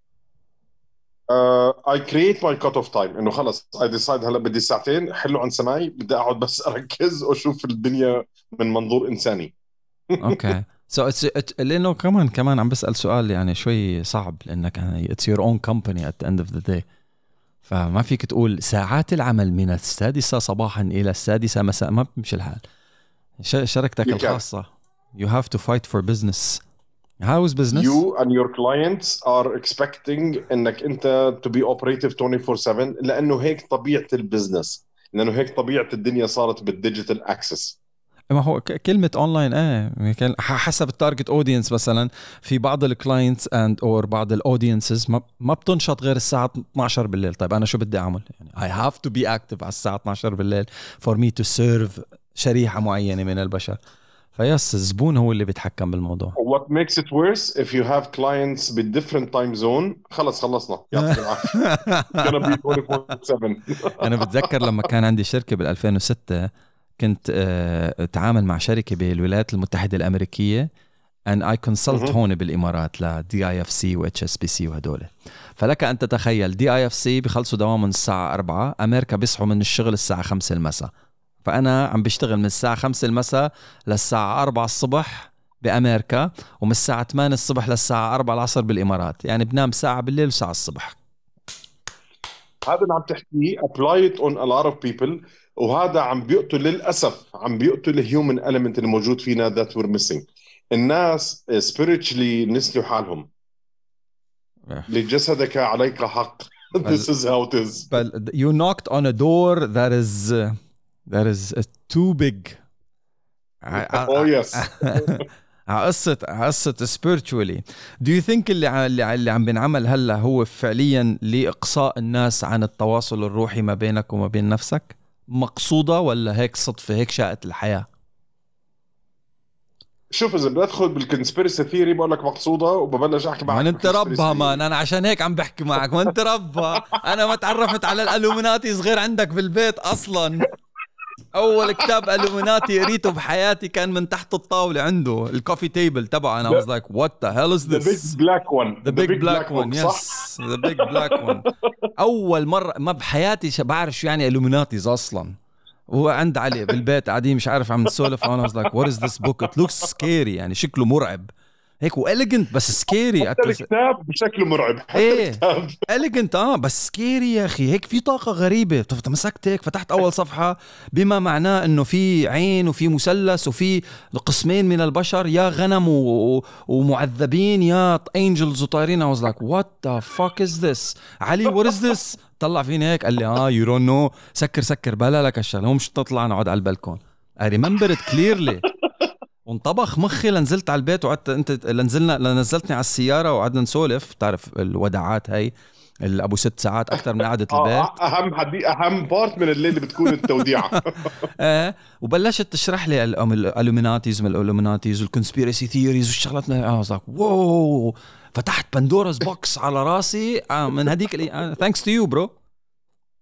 I create my cut off time إنه خلص I decide هلا بدي ساعتين حلو عن سماعي، بدي أقعد بس أركز وأشوف الدنيا من منظور إنساني. اوكي لانه كمان عم بسأل سؤال يعني شوي صعب، لانك يعني it's your own company at the end of the day، فما فيك تقول ساعات العمل من 6 صباحا إلى 6 مساء، ما بمشي الحال. شركتك الخاصة you have to fight for business. How is business? You and your clients are expecting إنك أنت to be operative 24/7 لأنه هيك طبيعة البزنس، لأنه هيك طبيعة الدنيا صارت بالديجيتال أكسس. ما هو كلمة اونلاين حسب التارجت اودينس. مثلا في بعض الكلاينتس اند اور بعض الاودينسز ما بتنشط غير الساعة 12 بالليل. طيب انا شو بدي اعمل؟ يعني I have to be active على الساعة 12 بالليل for me to serve شريحة معينة من البشر. فيس الزبون هو اللي بيتحكم بالموضوع. What makes it worse if you have clients بالdifferent time zone. خلصنا يعطيك العافية. gonna be 24/7. انا بتذكر لما كان عندي شركة بال2006 كنت اتعامل مع شركة بالولايات المتحدة الأمريكية and I consult هون بالإمارات ل DIFC و HSBC وهدول. فلك أن تتخيل DIFC بيخلصوا دوام من الساعة 4، أمريكا بيصحوا من الشغل الساعة 5 المساء، فأنا عم بشتغل من الساعة 5 المساء للساعة 4 الصبح بأمريكا، ومن الساعة 8 الصبح للساعة 4 العصر بالإمارات. يعني بنام ساعة بالليل وساعة الصبح. هذا اللي عم تحكيه apply it on a lot of people، وهذا عم بيقتل للأسف، عم بيقتل الهيومن element اللي موجود فينا that we're missing. الناس spiritually نسلوا حالهم. لجسدك عليك حق. This is how it is. But you knocked on a door that is too big. Oh yes. قصة spiritually. Do you think اللي عم بنعمل هلا هو فعليا لإقصاء الناس عن التواصل الروحي ما بينك وما بين نفسك، مقصودة ولا هيك صدفة، هيك شاءت الحياة؟ شوف إذا بدخل بالكونسبيرسي ثيوري بقول لك مقصودة وببلش أحكي معك. انت ربها مان، أنا عشان هيك عم بحكي معك، وانت ربها. أنا ما تعرفت على الألومناتي صغير عندك بالبيت أصلا. أول كتاب ألومناتي قريته بحياتي كان من تحت الطاولة عنده، الكوفي تيبل تبعه. أنا was like what the hell is this? The big black one. The big black one. Yes, the big black one. أول مرة ما بحياتي بعرف شو يعني ألومناتيز أصلا. وهو عند علي بالبيت قاعدين مش عارف عم نسولف، وأنا was like what is this book? It looks scary. يعني شكله مرعب هيك وإليجنت بس سكيري. حتى الكتاب بشكله مرعب. ايه إليجنت بس سكيري يا اخي. هيك في طاقة غريبة. مسكت هيك فتحت اول صفحة بما معناه انه في عين وفي مثلث وفي قسمين من البشر، يا غنم ومعذبين يا انجلز وطايرين. I was like what the fuck is this؟ علي what is this؟ طلع فيني هيك قال لي you don't know. سكر بلا لك الشغله، مش تطلع نقعد على البلكون. I remember it clearly. وانطبخ مخي لنزلت على البيت وقعدت انت لنزلتني على السياره وقعدنا نسولف. تعرف الوداعات هاي اللي ابو 6 ساعات اكثر من قعده البيت. اهم بارت من الليل بتكون التوديعه. وبلشت تشرح لي الالوميناتيز والكونسبيرسي ثيوريز والشغلات. واو، فتحت بندورا's بوكس على راسي من هديك ثانكس تو يو برو.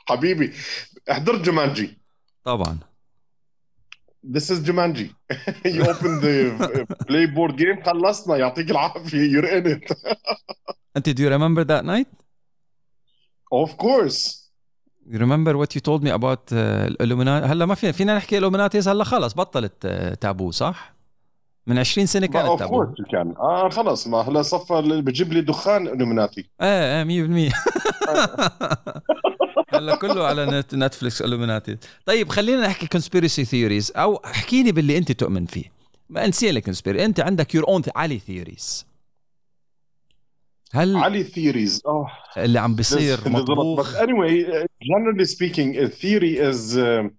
حبيبي احضر جومانجي. طبعا. This is Jumanji. You open the play board game. خلصنا يعطيك العافية. You're in it. أنت do you remember that night? Of course. You remember what you told me about الإلوميناتي؟ هلا ما فينا نحكي إلوميناتيز، هلا خلص بطلت تابو صح؟ من 20 سنة كانت تابو. Of course كان. خلص ما هلا صفى اللي بجيب لي دخان إلوميناتي. 100%. هلا كله على نتفليكس إلوميناتي. طيب خلينا نحكي conspiracy theories، أو احكيني باللي أنت تؤمن فيه. ما نسي لك conspiracy، أنت عندك your own علي theories. هل علي theories اللي عم بيصير مطبوخ؟ But anyway, generally speaking, a theory is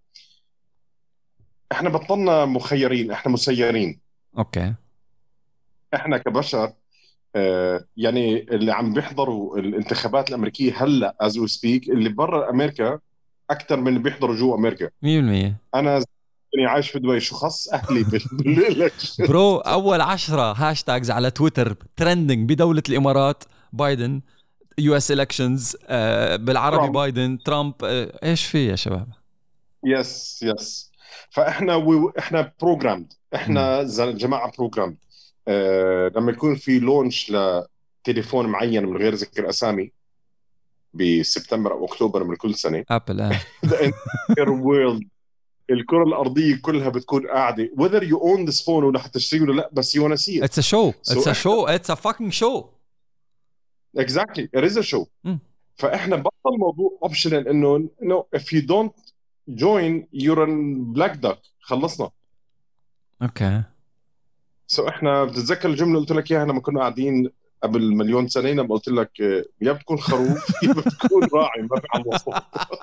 احنا بطلنا مخيرين، احنا مسيرين. اوكي. احنا كبشر يعني اللي عم بيحضروا الانتخابات الامريكيه هلا as we speak، اللي برا امريكا اكثر من اللي بيحضروا جوا امريكا. 100%. انا عايش في دبي، شو خص اهلي بالإلكشن. برو اول 10 هاشتاجز على تويتر ترندنج بدوله الامارات: بايدن، يو اس الكشنز، بالعربي ترامب. بايدن، ترامب. ايش في يا شباب؟ يس فاحنا احنا بروجرامد، احنا جماعه بروجرامد. لما يكون في لونش لتليفون معين من غير ذكر اسامي بسبتمبر او اكتوبر من كل سنه، ابل world، الكره الارضيه كلها بتكون قاعده whether you own this phone ولا حتشتريه ولا لا، بس you wanna see it. It's a show. It's a show. It's a fucking show. Exactly, it is a show. فاحنا بطل موضوع optional انه no, if you don't join you're a black duck. خلصنا. اوكي. احنا بتتذكر الجمله اللي قلت لك اياها لما كنا قاعدين قبل مليون سنه، لما قلت لك يا بتكون خروف يا بتكون راعي، ما في على الوسط.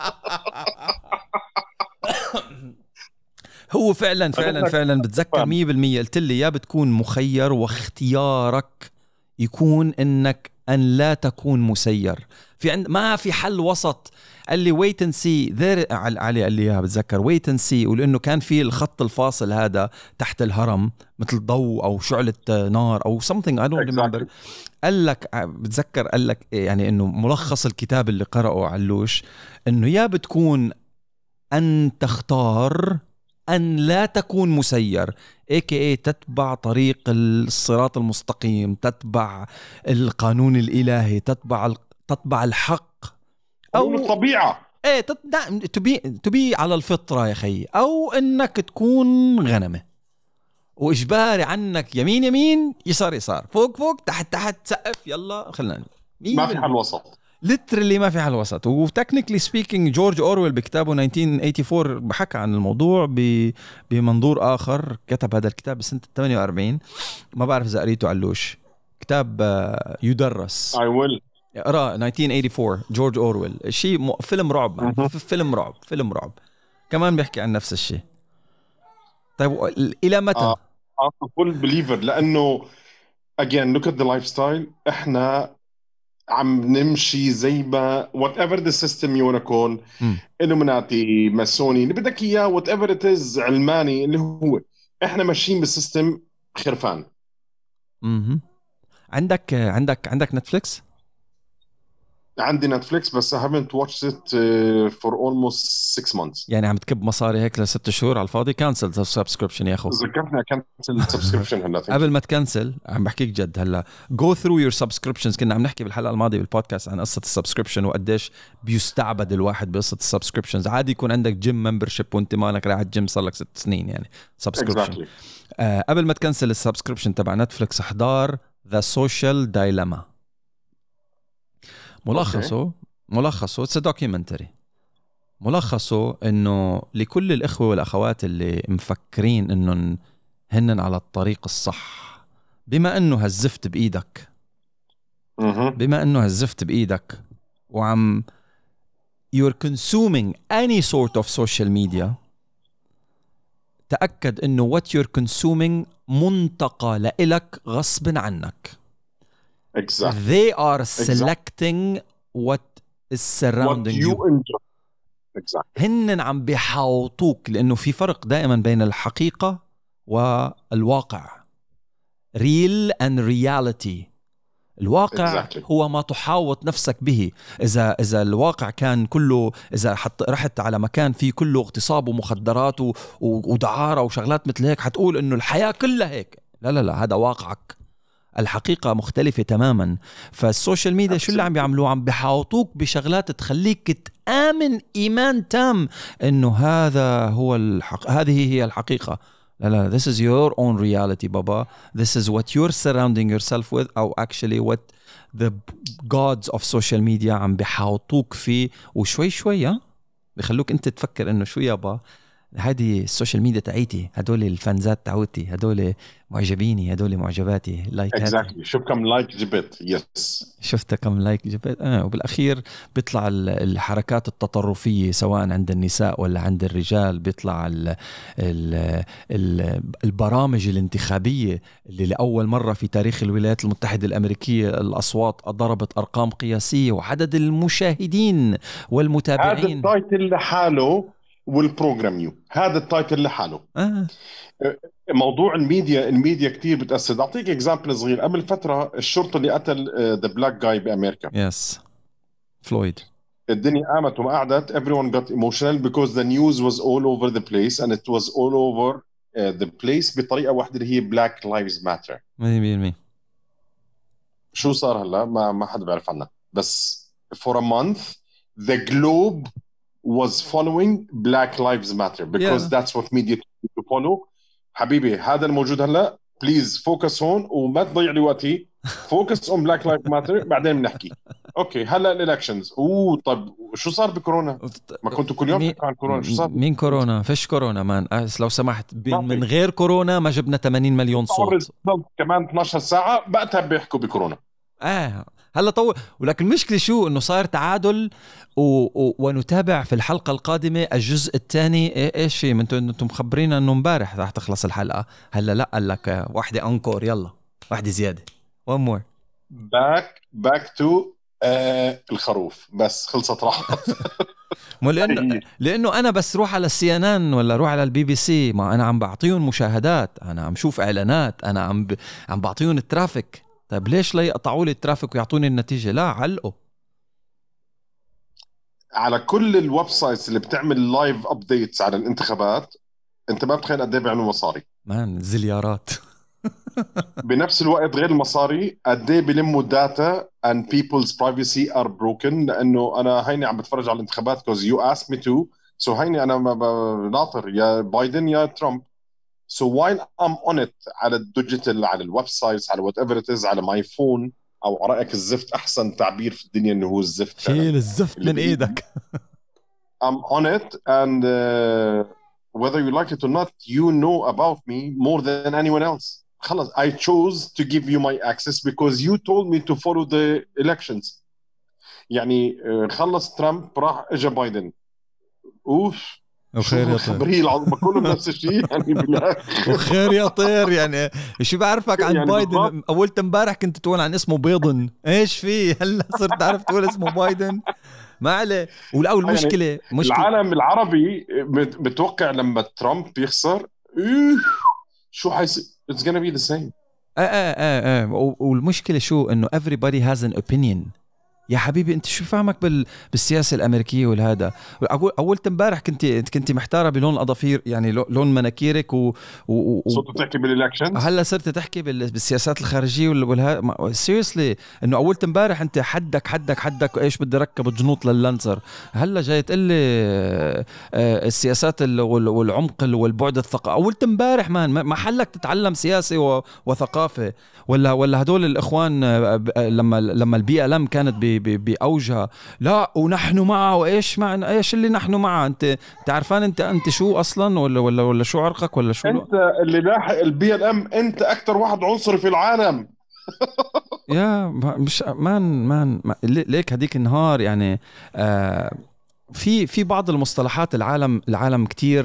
هو فعلا بتذكر 100%. قلت لي يا بتكون مخير واختيارك يكون انك ان لا تكون مسير. ما في حل وسط. قال لي wait and see there. علي قال لي اياها بتذكر wait and see، ولانه كان في الخط الفاصل هذا تحت الهرم مثل ضوء او شعلة نار او something I don't remember. قال لك بتذكر قال لك يعني انه ملخص الكتاب اللي قرأه علوش انه يا بتكون ان تختار أن لا تكون مسير، AKA تتبع طريق الصراط المستقيم، تتبع القانون الإلهي، تتبع الحق أو الطبيعة. تبي على الفطرة يا خي، أو إنك تكون غنمة وإجباري عنك يمين يسار فوق تحت سقف يلا خلنا. ما في حل وسط. literally ما في حل وسط. وتكنيكلي سبيكينج جورج أورويل بكتابه 1984 بحكى عن الموضوع بمنظور آخر. كتب هذا الكتاب بسنة 48. ما بعرف إذا قريته علوش. كتاب يدرس. I will. اقرأ 1984 جورج أورويل. شيء فيلم رعب. فيلم رعب كمان بيحكي عن نفس الشيء. طيب إلى متى؟ full believer، لأنه again look at the lifestyle. إحنا عم نمشي زي ما whatever the system يكون، إلوميناتي، ماسوني، اللي بدك إياه whatever it is، علماني، اللي هو إحنا ماشيين بالسيستم خرفان. عندك نتفليكس؟ عندي نتفليكس بس I haven't watched it for almost 6 months. يعني عم تكب مصاري هيك ل6 شهور على الفاضي. كانسل السبسكريبشن يا أخو. ذكرتني أكنسل السبسكريبشن هلا. قبل ما تكنسل عم بحكيك جد هلا go through your subscriptions. كنا عم نحكي بالحلقة الماضية بالبودكاست عن قصة السبسكريبشن وقديش بيستعبد الواحد بقصة السبسكريبشنز. عادي يكون عندك جيم ممبرشيب وانت مالك رايح الجيم صار لك 6 سنين يعني سبسكريبشن. قبل ما تكنسل السبسكريبشن تبع نتفليكس احضار The Social Dilemma. ملخصه it's a documentary. ملخصه انه لكل الاخوة والاخوات اللي مفكرين انه هنن على الطريق الصح، بما انه هالزفت بايدك وعم you're consuming any sort of social media، تأكد انه what you're consuming منتقى لإلك غصب عنك. Exactly. They are selecting what is surrounding you. Exactly. هنن عم بيحاوطوك، لأنه في فرق دائما بين الحقيقة والواقع. Real and reality. الواقع Exactly. هو ما تحاوط نفسك به. إذا الواقع كان كله، إذا رحت على مكان فيه كله اغتصاب ومخدرات ودعارة وشغلات مثل هيك، حتقول إنه الحياة كلها هيك. لا لا لا، هذا واقعك، الحقيقة مختلفة تماما. فالسوشيال ميديا شو اللي عم بيعملوه؟ عم بحاوطوك بشغلات تخليك تآمن إيمان تام إنه هذا هو هذه هي الحقيقة. لا لا، this is your own reality بابا. This is what you're surrounding yourself with, أو actually what the gods of social media عم بحاوطوك فيه. وشوي شوي بيخلوك أنت تفكر إنه شو يابا، هذه السوشيال ميديا تاعيتي، هدول الفانزات تعوتي، هدول معجبيني، هدول معجباتي، لايكاتي. Exactly. شوف كم لايك جبت. يس. شفت كم لايك جبت. وبالأخير بيطلع الحركات التطرفية سواء عند النساء ولا عند الرجال. بيطلع البرامج الانتخابية اللي لأول مرة في تاريخ الولايات المتحدة الأمريكية الأصوات ضربت أرقام قياسية، وعدد المشاهدين والمتابعين. هذا التايتل لحاله والبروجرام يو، هذا التايتل لحاله. موضوع الميديا كتير بتأثر. أعطيك إكزامبل صغير. قبل فترة الشرطة اللي قتل the black guy بأمريكا، يس، فلويد، الدنيا قامت وما قعدت. everyone got emotional because the news was all over the place and it was all over the place بطريقة واحدة اللي هي black lives matter. 100%. شو صار هلا؟ ما حدا بيعرف عنها، بس for a month the globe was following Black Lives Matter because that's what media to follow. حبيبي هذا الموجود هلا، بليز فوكس هون وما تضيع لي وقتي. فوكس اون بلاك لايف ماتر، بعدين بنحكي. اوكي هلا الالكشنز. طب شو صار بكورونا؟ ما كنتوا كل يوم تحكوا عن كورونا؟ شو صار؟ مين كورونا؟ فيش كورونا مان. لو سمحت، من غير كورونا ما جبنا 80 مليون صوت. كمان 12 ساعه بقتها بيحكوا بكورونا. هلا طول. ولكن المشكله شو؟ انه صار تعادل ونتابع في الحلقه القادمه الجزء الثاني. ايش في؟ انتم مخبرين انه امبارح راح تخلص الحلقه. هلا لا، قال لك واحده انكور، يلا واحده زياده، one more باك تو الخروف. بس خلصت راحت. لانه انا بس روح على CNN ولا روح على الBBC، ما انا عم بعطيهم مشاهدات، انا عم شوف اعلانات، انا عم بعطيهم الترافيك. طيب ليش لا يقطعوا لي الترافيك ويعطوني النتيجه؟ لا، علقوا على كل الويب سايتس اللي بتعمل لايف ابديتس على الانتخابات. انت ما بتخيل قد ايه بيعملوا مصاري مان، زليارات. بنفس الوقت غير المصاري قد ايه بيلموا داتا and people's privacy are broken. لانه انا هيني عم بتفرج على الانتخابات because you asked me to, so هيني انا ناطر يا بايدن يا ترامب. so while I'm on it على الديجيتال، على الويب سايتس، على whatever it is، على ماي فون، او رايك الزفت احسن تعبير في الدنيا انه هو الزفت. شيل الزفت من ايدك. I'm on it and whether you like it or not you know about me more than anyone else. خلص I chose to give you my access because you told me to follow the elections. يعني خلص ترامب راح اجى بايدن. وخير يا طير. كلهم نفس الشيء يعني وخير يا طير. يعني شو بعرفك عن يعني بايدن بالضبط. اولت امبارح كنت تقول عن اسمه بيضن، ايش فيه هلا صرت تعرف تقول اسمه بايدن؟ ما عليه. ولا المشكله يعني العالم العربي بتوقع لما ترامب يخسر شو حيصير. it's gonna be the same. والمشكله شو؟ انه everybody has an opinion. يا حبيبي انت شو فاهمك بالسياسه الامريكيه والهذا؟ اول امبارح كنت محتاره بلون الاظافير، يعني لون مناكيرك صرت تحكي بالالكشنز. هلا صرت تحكي بالسياسات الخارجيه والهذا. سيريسلي انه اول امبارح انت حدك ايش بدي ركب جنوط لللانسر، هلا جاي تقول لي السياسات والعمق والبعد الثقافي. اول امبارح ما حلك تتعلم سياسه وثقافه ولا هدول الاخوان لما البيئه لم كانت بأوجها، لا ونحن معه. وايش معنى ايش اللي نحن معه؟ انت عارفان انت شو اصلا ولا شو عرقك ولا شو؟ انت اللي لاحق الBLM، انت اكثر واحد عنصري في العالم. يا مش مان ليك هديك النهار يعني في بعض المصطلحات العالم كتير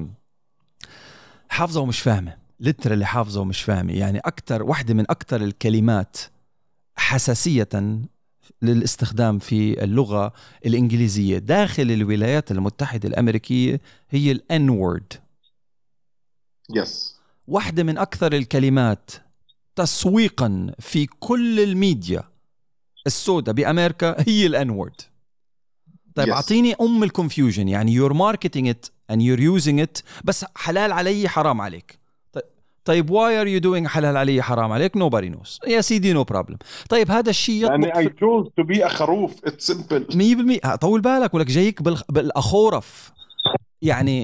حافظه ومش فاهمه، اللي حافظه ومش فاهمه. يعني اكثر واحده من اكثر الكلمات حساسيه للاستخدام في اللغة الإنجليزية داخل الولايات المتحدة الأمريكية هي الN word. yes. واحدة من أكثر الكلمات تسويقا في كل الميديا السوداء بأمريكا هي الانورد. طيب Yes. اعطيني الكونفيوجن، يعني you're marketing it and you're using it، بس حلال علي حرام عليك. طيب why are you doing حلال علي حرام عليك؟ nobody knows يا سيدي، no problem. طيب هذا الشيء لأني I يطبق chose to be a خروف. It's simple. 100%. طول بالك ولك جايك بالأخورف يعني.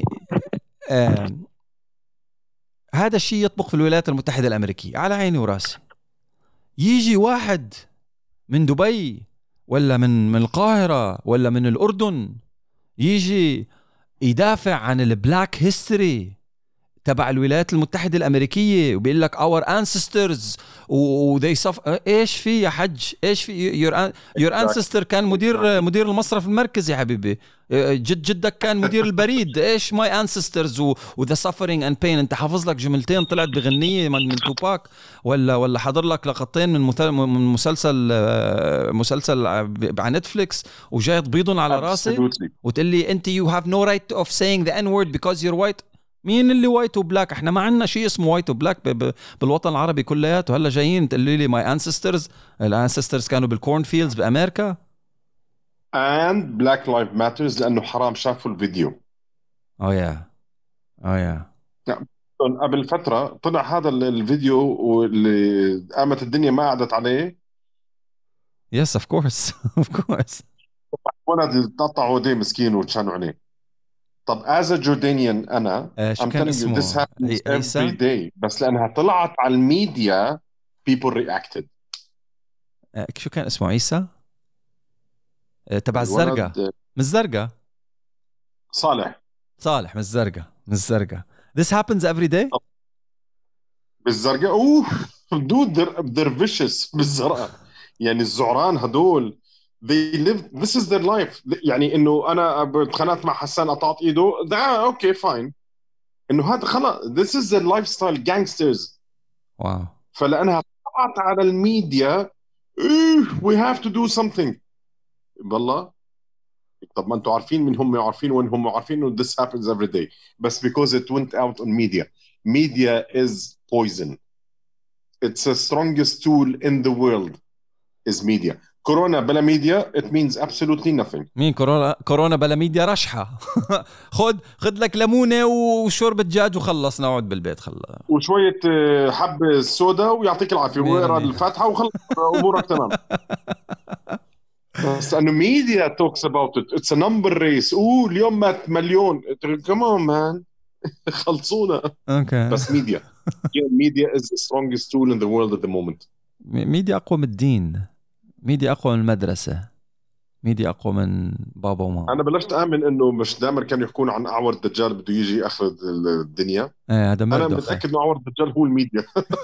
هذا الشيء يطبق في الولايات المتحدة الأمريكية على عيني وراسي. يجي واحد من دبي ولا من القاهرة ولا من الأردن يجي يدافع عن البلاك هيستوري تبع الولايات المتحدة الأمريكية وبيقول لك our ancestors و they suffer. إيش في يا حج؟ إيش في your ancestor كان مدير المصرف المركزي يا حبيبي، جدك كان مدير البريد. إيش my ancestors و the suffering and pain؟ أنت حافظ لك جملتين طلعت بغنية من توباك ولا حضر لك لقطتين من مسلسل على نتفليكس وجاي تبيضن على راسي وتقول لي أنت you have no right of saying the N-word because you're white. مين اللي وايت وبلاك؟ احنا ما عندنا شيء اسمه وايت وبلاك بالوطن العربي كلياته. هلا جايين تقولوا لي ماي انسسترز كانوا بالكورن فيلدز بامريكا. and black lives matters لانه حرام شافوا الفيديو. يا قبل فتره طلع هذا الفيديو واللي قامت الدنيا ما قعدت عليه. يس اوف كورس ولد تقطعوا ايديه مسكين وتشانوا عليه. طب as a Jordanian أنا شو كان اسمه؟ this happens every day بس لأنها طلعت على الميديا people reacted. شو كان اسمه؟ عيسى تبع الزرقاء، من الزرقاء. صالح من الزرقاء. This happens every day. بالزرقاء اوه دود they're vicious بالزرقاء. يعني الزعران هدول they live this is their life. يعني انه انا اتخانقت مع حسان قطعت ايده ده اوكي فاين، انه هذا خلاص this is their lifestyle gangsters. واو. فلانها طلعت على الميديا we have to do something. والله طب ما انتم عارفين من هم عارفين وين هم عارفين انه this happens every day بس because it went out on media is poison. It's the strongest tool in the world is media. كورونا بلا ميديا it means absolutely nothing. مين كورونا بلا ميديا؟ رشحة. خد لك ليمونة وشوربة دجاج وخلص نقعد بالبيت وشوية حبة سودا ويعطيك العافية واقرا الفاتحة وخلص أمورك تمام. بس أنه media talks about it. It's a number race. اليوم مات مليون. Come on man. خلصونا. Okay. بس media is the strongest tool in the world at the moment. ميديا أقوى من الدين، ميديا أقوى من المدرسة، ميديا أقوى من بابا وماما. أنا بلشت آمن إنه مش دائما كانوا يحكون عن أعور الدجال بده يجي آخر الدنيا. هذا أنا متأكد إنه أعور الدجال هو الميديا.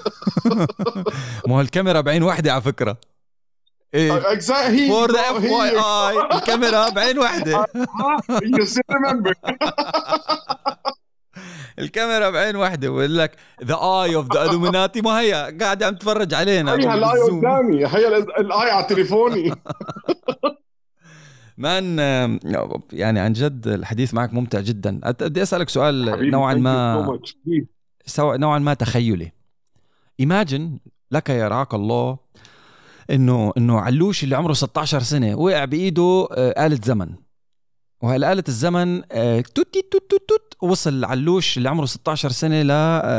مو الكاميرا بعين واحدة على فكرة. Exactly. For the FYI الكاميرا بعين واحدة. You still remember. الكاميرا بعين واحدة ويقول لك the eye of the Illuminati. ما هي قاعدة عم تفرج علينا. هي الآي قدامي، هي الآي على تليفوني. مان يعني عن جد الحديث معك ممتع جدا. بدي أسألك سؤال نوعا ما تخيلي. Imagine لك يا رعاك الله إنه علوش اللي عمره 16 سنة وقع بإيده آلة زمن، وهالآلة الزمن توت وصل علوش اللي عمره 16 سنة ل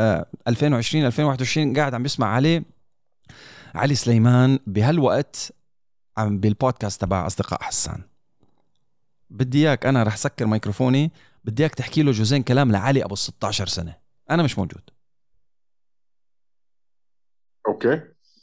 2020 قاعد عم بيسمع علي سليمان بهالوقت عم بالبودكاست تبع أصدقاء حسان. بدي إياك، أنا رح سكر ميكروفوني، بدي إياك تحكي له جزئين كلام لعلي أبو 16 سنة، أنا مش موجود. أوكي.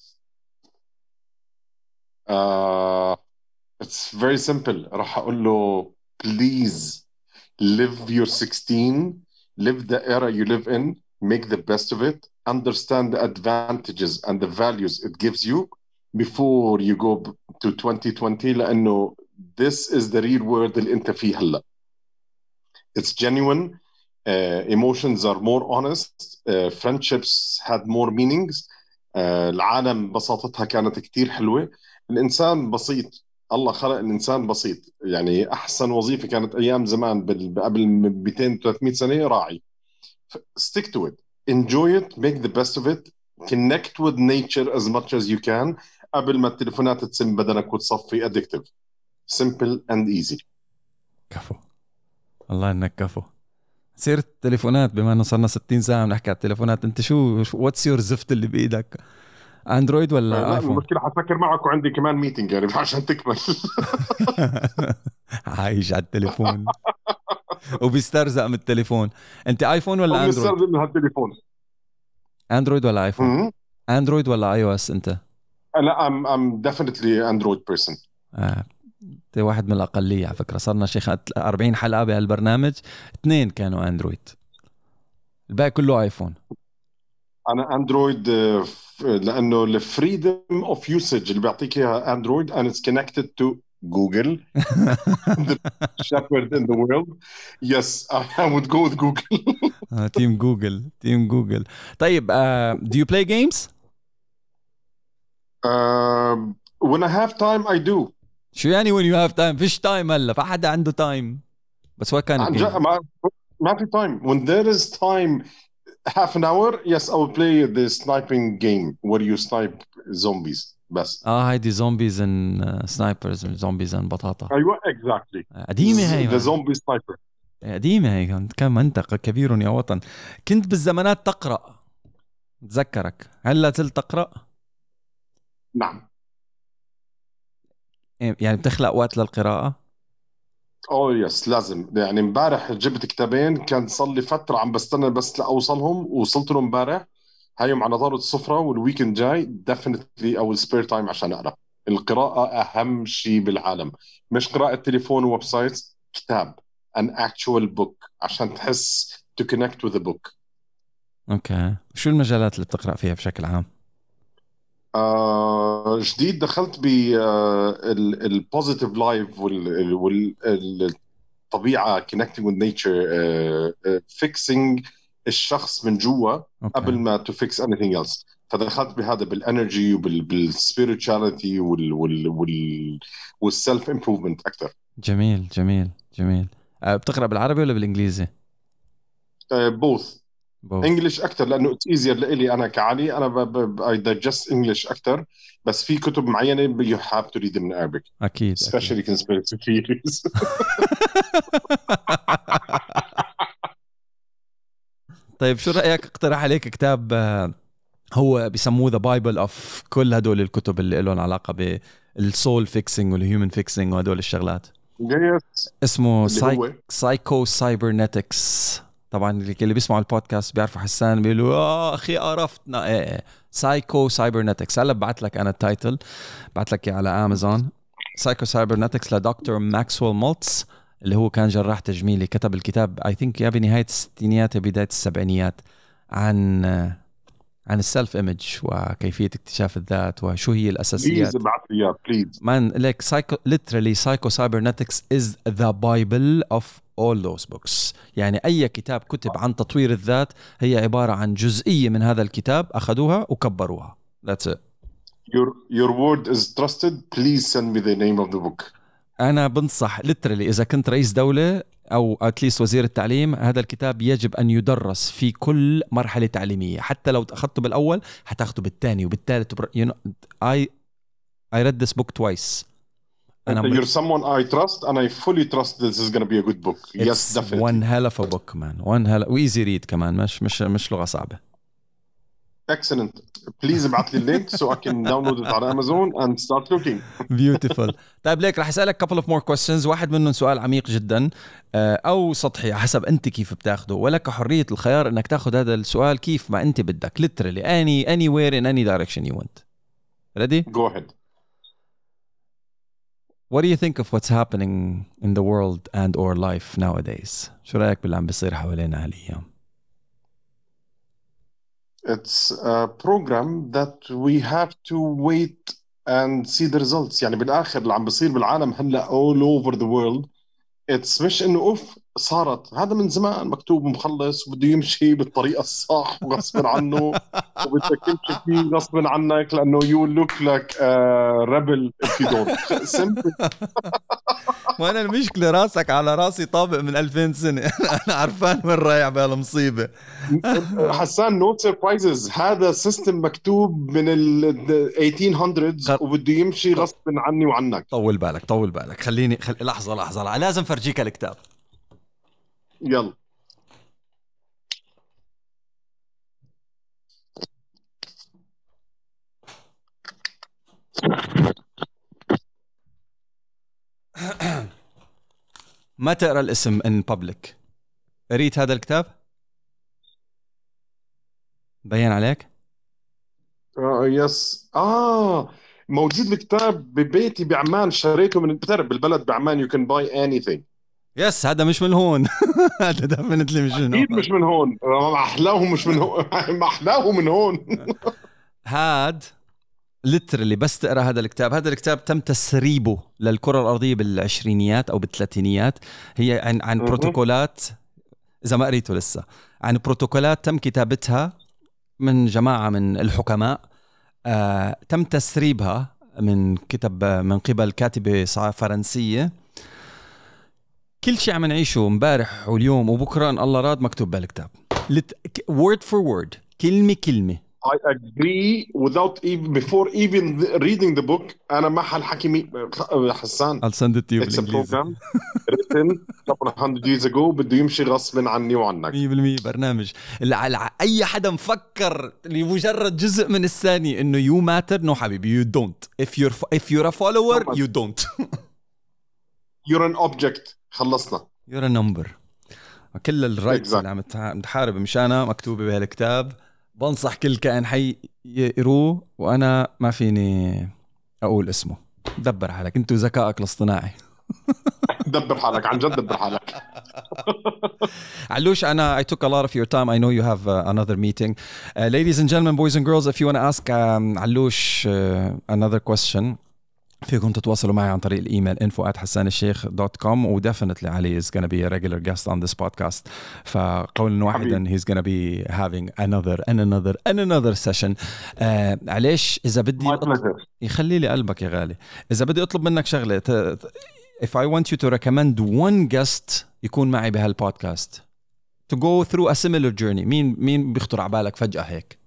It's very simple. رح أقول له please live your 16, live the era you live in, make the best of it, understand the advantages and the values it gives you before you go to 2020 لأنه this is the real world اللي أنت فيه هلا. It's genuine, emotions are more honest, friendships had more meanings, العالم بساطتها كانت كتير حلوة، الإنسان بسيط، الله خلق الإنسان بسيط. يعني أحسن وظيفة كانت أيام زمان قبل 200-300 سنة راعي. stick to it, enjoy it, make the best of it, connect with nature as much as you can قبل ما التليفونات تسم بدنك وتصفي addictive. simple and easy. كفو، الله انك كفو. سيرة التليفونات، بما انه صرنا 60 ساعة بنحكي على التليفونات، انت شو واتس يور زفت اللي بايدك؟ اندرويد ولا لا ايفون؟ المشكلة حفكر معك وعندي كمان ميتنج يعني عشان تكمل. عايش على التليفون وبيسترزق من التليفون. انت ايفون ولا اندرويد؟ وبنستخدم هالتليفون. اندرويد ولا ايفون؟ اندرويد ولا اي او اس انت؟ لا I'm definitely Android person. انت واحد من الاقليه على فكره، صرنا شيخ 40 حلقه بهالبرنامج 2 كانوا اندرويد، الباقي كله ايفون. انا اندرويد لانه الفريدم اوف يوسج اللي بيعطيك اياها اندرويد and it's connected to Google. The shepherd in the world. Yes, I would go with Google. تيم جوجل، تيم جوجل. طيب do you play games؟ When I have time I do. شو يعني when you have time؟ فيش تايم هلا، فحدا عنده تايم. بس what kind of game؟ ما في time. When there is time, half an hour, yes, I will play the sniping game where you snipe zombies. بس هايدي زومبيز ان سنايبرز، زومبيز ان بطاطا. ايوه exactly. قديمه هي، The zombie sniper. قديمه هي. كم منطقه كبير يا وطن. كنت بالزمانات تقرا، تذكرك. هل لا زلت تقرا؟ نعم. يعني بتخلق وقت للقراءه؟ اوه يس لازم. يعني امبارح جبت كتابين كان صار لي فتره عم بستنى بس لاوصلهم، ووصلت لهم امبارح. هايهم على طاولة السفرة، والويكند جاي definitely أو سبير تايم عشان أقرأ. القراءة أهم شيء بالعالم، مش قراءة تليفون وويب سايت. كتاب an actual book عشان تحس to connect with the book. اوكي، شو المجالات اللي بتقرأ فيها بشكل عام؟ جديد دخلت بالبوزيتيف لايف والطبيعة connecting with nature, fixing الشخص من جوا قبل ما to fix anything else. فدخلت بهذا بالانرجي وبالسبيريتشاليتي والسيلف امبروفمنت اكثر. جميل جميل جميل. بتقرأ بالعربي ولا بالانجليزي؟ بوث. انجلش اكثر لانه اتس ايزير لإلي انا كعلي. انا اي دايجست انجلش اكثر، بس في كتب معينه يو هاف تو ريد من Arabic. اكيد especially conspiracy theories. طيب شو رأيك اقترح عليك كتاب هو بيسموه ذا بايبل اوف كل هدول الكتب اللي لهم علاقة بالسول فيكسينج والهيومن فيكسينج وهدول الشغلات؟ اسمه سايكو سايبرنتكس. طبعا اللي بيسمعوا البودكاست بيعرفوا حسان بيقولوا اخي عرفتنا. سايكو سايبرنتكس. هلا بعت لك انا التايتل، بعت لك على امازون. سايكو سايبرنتكس لدكتور ماكسويل مولتز، اللي هو كان جراح تجميلي. كتب الكتاب اي ثينك يا بنهايه الستينيات يا بدايه السبعينيات عن السيلف ايمج وكيفيه اكتشاف الذات وشو هي الاساسيات. بليز ابعث لي اياه بليز. مان ليك literally psycho cybernetics is the bible of all those books. يعني اي كتاب كتب عن تطوير الذات هي عباره عن جزئيه من هذا الكتاب اخذوها وكبروها. That's it. Your word is trusted. Please send me the name of the book. انا بنصح literally اذا كنت رئيس دوله او اتليست وزير التعليم، هذا الكتاب يجب ان يدرس في كل مرحله تعليميه. حتى لو اخذته بالاول حتاخذه بالثاني وبالثالث. you know, I read this book twice. You're someone I trust and I fully trust this is going to be a good book. Yes, definitely. One hell of a book, man. One hell easy read كمان، مش لغة صعبة. Excellent. Please ابعت لي اللينك so I can download it على Amazon and start looking. Beautiful. طيب ليك رح أسألك couple of more questions. واحد منهم سؤال عميق جدا أو سطحي حسب أنت كيف بتاخده، ولك حرية الخيار أنك تاخد هذا السؤال كيف ما أنت بدك. Literally anywhere in any direction you want. Ready? Go ahead. What do you think of what's happening in the world and or life nowadays? شو رأيك باللي عم بيصير حوالينا هالأيام؟ It's a program that we have to wait and see the results. يعني بالآخر اللي عم بيصير بالعالم هلا all over the world. It's مش إنه صارت هذا من زمان مكتوب مخلص وبده يمشي بالطريقة الصح وغصب عنه، وبدك تمشي فيه غصب عنك لأنه you look like a rebel if you don't. simple. وانا المشكله راسك على راسي طابق من 2000 سنه. انا عارفان وين رايح بهالمصيبه. حسان no surprises، هذا سيستم مكتوب من ال 1800s وبده يمشي غصب عني وعنك. طول بالك خليني لحظه لازم فرجيك الكتاب. يلا ما تقرا الاسم in public. قريت هذا الكتاب؟ بين عليك؟ يس موجود الكتاب ببيتي بعمان، شريته من بتعرف بالبلد بعمان you can buy anything. يس هذا مش من هون. هذا دفنتلي مش من هون. اكيد مش من هون، احلاه مش من هون. ما احلاه من هون. هاد ليترلي بس تقرا هذا الكتاب تم تسريبه للكره الارضيه بالعشرينيات او بالثلاثينيات. هي عن بروتوكولات، اذا ما قريته لسه، عن بروتوكولات تم كتابتها من جماعه من الحكماء. تم تسريبها من قبل كاتبه فرنسيه. كل شيء عم نعيشه امبارح واليوم وبكره ان الله راد مكتوب بالكتاب word for word، كلمه. I agree without even before even reading the book. أنا ما حكي حسان. I'll send it to you It's a program written a couple of hundred years ago بده يمشي غصب عني وعنك. 100% برنامج اللي أي حدا مفكر لمجرد جزء من الثانية إنه you matter. No حبيبي you don't. If you're a follower you don't. You're an object. خلصنا. You're a number. كل الرايتس اللي عم تحارب مشانها مكتوبة بهالكتاب. بنصح كل كائن حي يقروه، وأنا ما فيني أقول اسمه. دبر حالك أنت وذكائك الاصطناعي. دبر حالك عن جد، دبر حالك. علوش, I took a lot of your time. I know you have another meeting. Ladies and gentlemen, boys and girls, if you want to ask علوش another question, فيكم تتواصلوا معي عن طريق الإيميل info@hassanalsheikh.com و definitely Ali is going to be a regular guest on this podcast. فقولا واحدا he's going to be having another session. عليش إذا بدي يخلي لي قلبك يا غالي، إذا بدي أطلب منك شغلة، if I want you to recommend one guest يكون معي بهالبودكاست to go through a similar journey، مين بيخطر على بالك فجأة هيك؟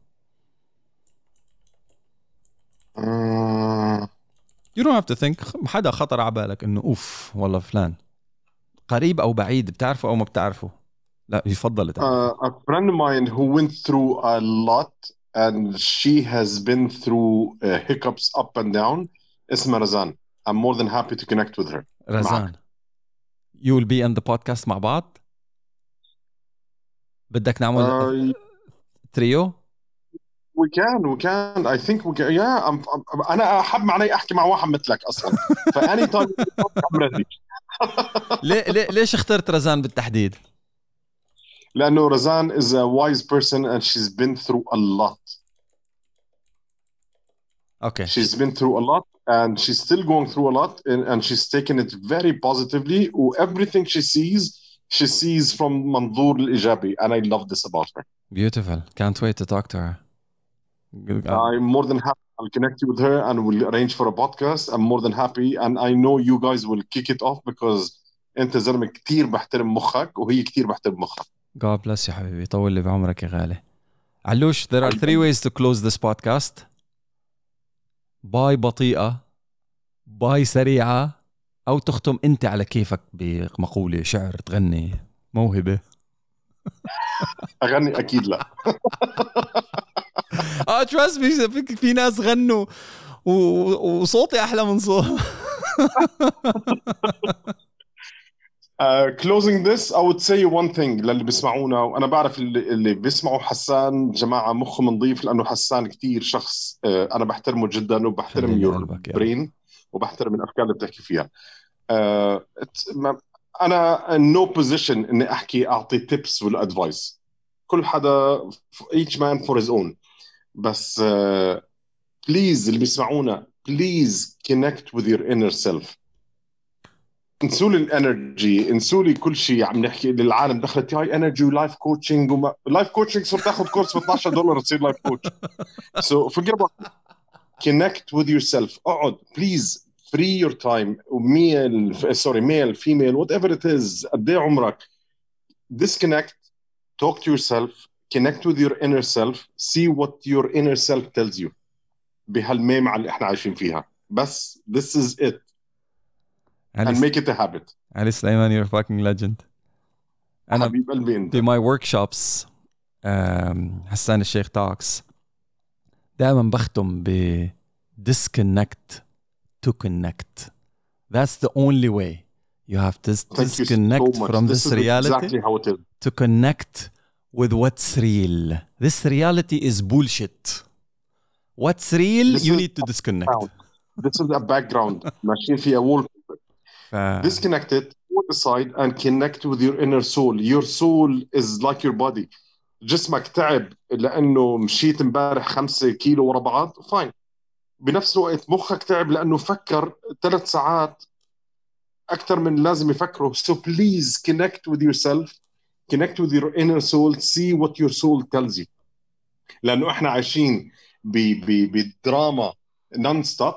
You don't have to think. حدا خطر على بالك إنه أوف والله فلان قريب أو بعيد، بتعرفه أو ما بتعرفه؟ لا يفضل تعرفه. A friend of mine who went through a lot and she has been through hiccups up and down اسمها رزان. I'm more than happy to connect with her. رزان you will be on the podcast مع بعض. بدك نعمل تريو؟ We can. I think we can. Yeah, أنا أحب معني أحكي مع واحد مثلك أصلاً. فأني طالب I'm ready. ليش اخترت رزان بالتحديد؟ لأنه رزان is a wise person and she's been through a lot. Okay. She's been through a lot and she's still going through a lot and she's taken it very positively. Everything she sees from منظور الإيجابي, and I love this about her. Beautiful. Can't wait to talk to her. I'm more than happy. I'll connect you with her and we'll arrange for a podcast. I'm more than happy and I know you guys will kick it off because أنت زلمة كتير بحترم مخك وهي كتير بحترم مخك. God bless you حبيبي، طول لي بعمرك يا غالي. علوش, there are 3 ways to close this podcast. باي بطيئة، باي سريعة، أو تختم أنت على كيفك بمقولة، شعر، تغني، موهبة. أغني أكيد لا. trust me في ناس غنوا وصوتي أحلى من صوت. Closing this, I would say one thing للي بيسمعونا، وأنا بعرف اللي بيسمعوا حسان جماعة مخه نظيف، لأنه حسان كتير شخص أنا بحترمه جدا وبحترم your brain وبحترم الأفكار اللي بتحكي فيها. أنا no position إني أعطي tips ولا advice. كل حدا each man for his own. بس please اللي بيسمعونا please connect with your inner self. انسوا لي الانرجي، انسوا لي كل شيء عم نحكي للعالم دخلت هاي انرجي ولايف كوتشنج لايف كوتشنج صرت تاخذ كورس ب $12 تصير لايف كوتش. So forget about connect with yourself. اقعد please free your time. male female whatever it is قد ايه عمرك. Disconnect, talk to yourself, connect with your inner self, see what your inner self tells you بهالميمة اللي احنا عايشين فيها. بس this is it and make it a habit. علي سليمان you're a fucking legend. أنا حبيب قلبي انت. في my workshops حسان الشيخ talks دائما بختم ب disconnect to connect. That's the only way. You have to disconnect from this reality exactly how it is. to connect with what's real. This reality is bullshit. What's real, you need to disconnect. This is a background. ماشيين فيها wallpaper. Disconnect it, put aside and connect with your inner soul. Your soul is like your body. جسمك تعب لأنه مشيت امبارح 5 كيلو ورا بعض fine. بنفس الوقت مخك تعب لأنه فكر 3 ساعات أكثر من لازم يفكره. So please connect with yourself, connect with your inner soul, see what your soul tells you. لأنه إحنا عايشين بدراما non-stop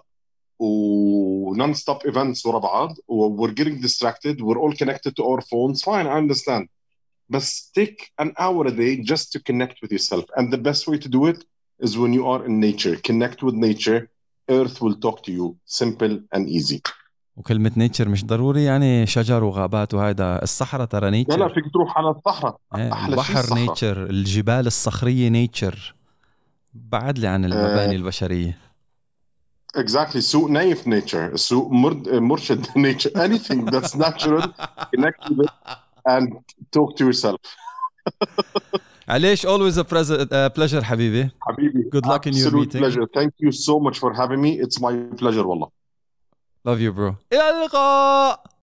و non-stop events ورا بعض. We're getting distracted. We're all connected to our phones. Fine, I understand. But take an hour a day just to connect with yourself. And the best way to do it is when you are in nature. Connect with nature. Earth will talk to you. Simple and easy. وكلمة نيتشر مش ضروري يعني شجر وغابات وهذا. الصحراء ترى نيتشر. لا فيك تروح على الصحراء. البحر نيتشر، الجبال الصخرية نيتشر. بعد لي عن المباني البشرية. Exactly. سوق نايف nature. سوق مرشد nature. Anything that's natural, connect with it and talk to yourself. عليش always a pleasure حبيبي. Good luck in your meeting. Pleasure. Thank you so much for having me. It's my pleasure والله. Love you bro. إلى اللقاء.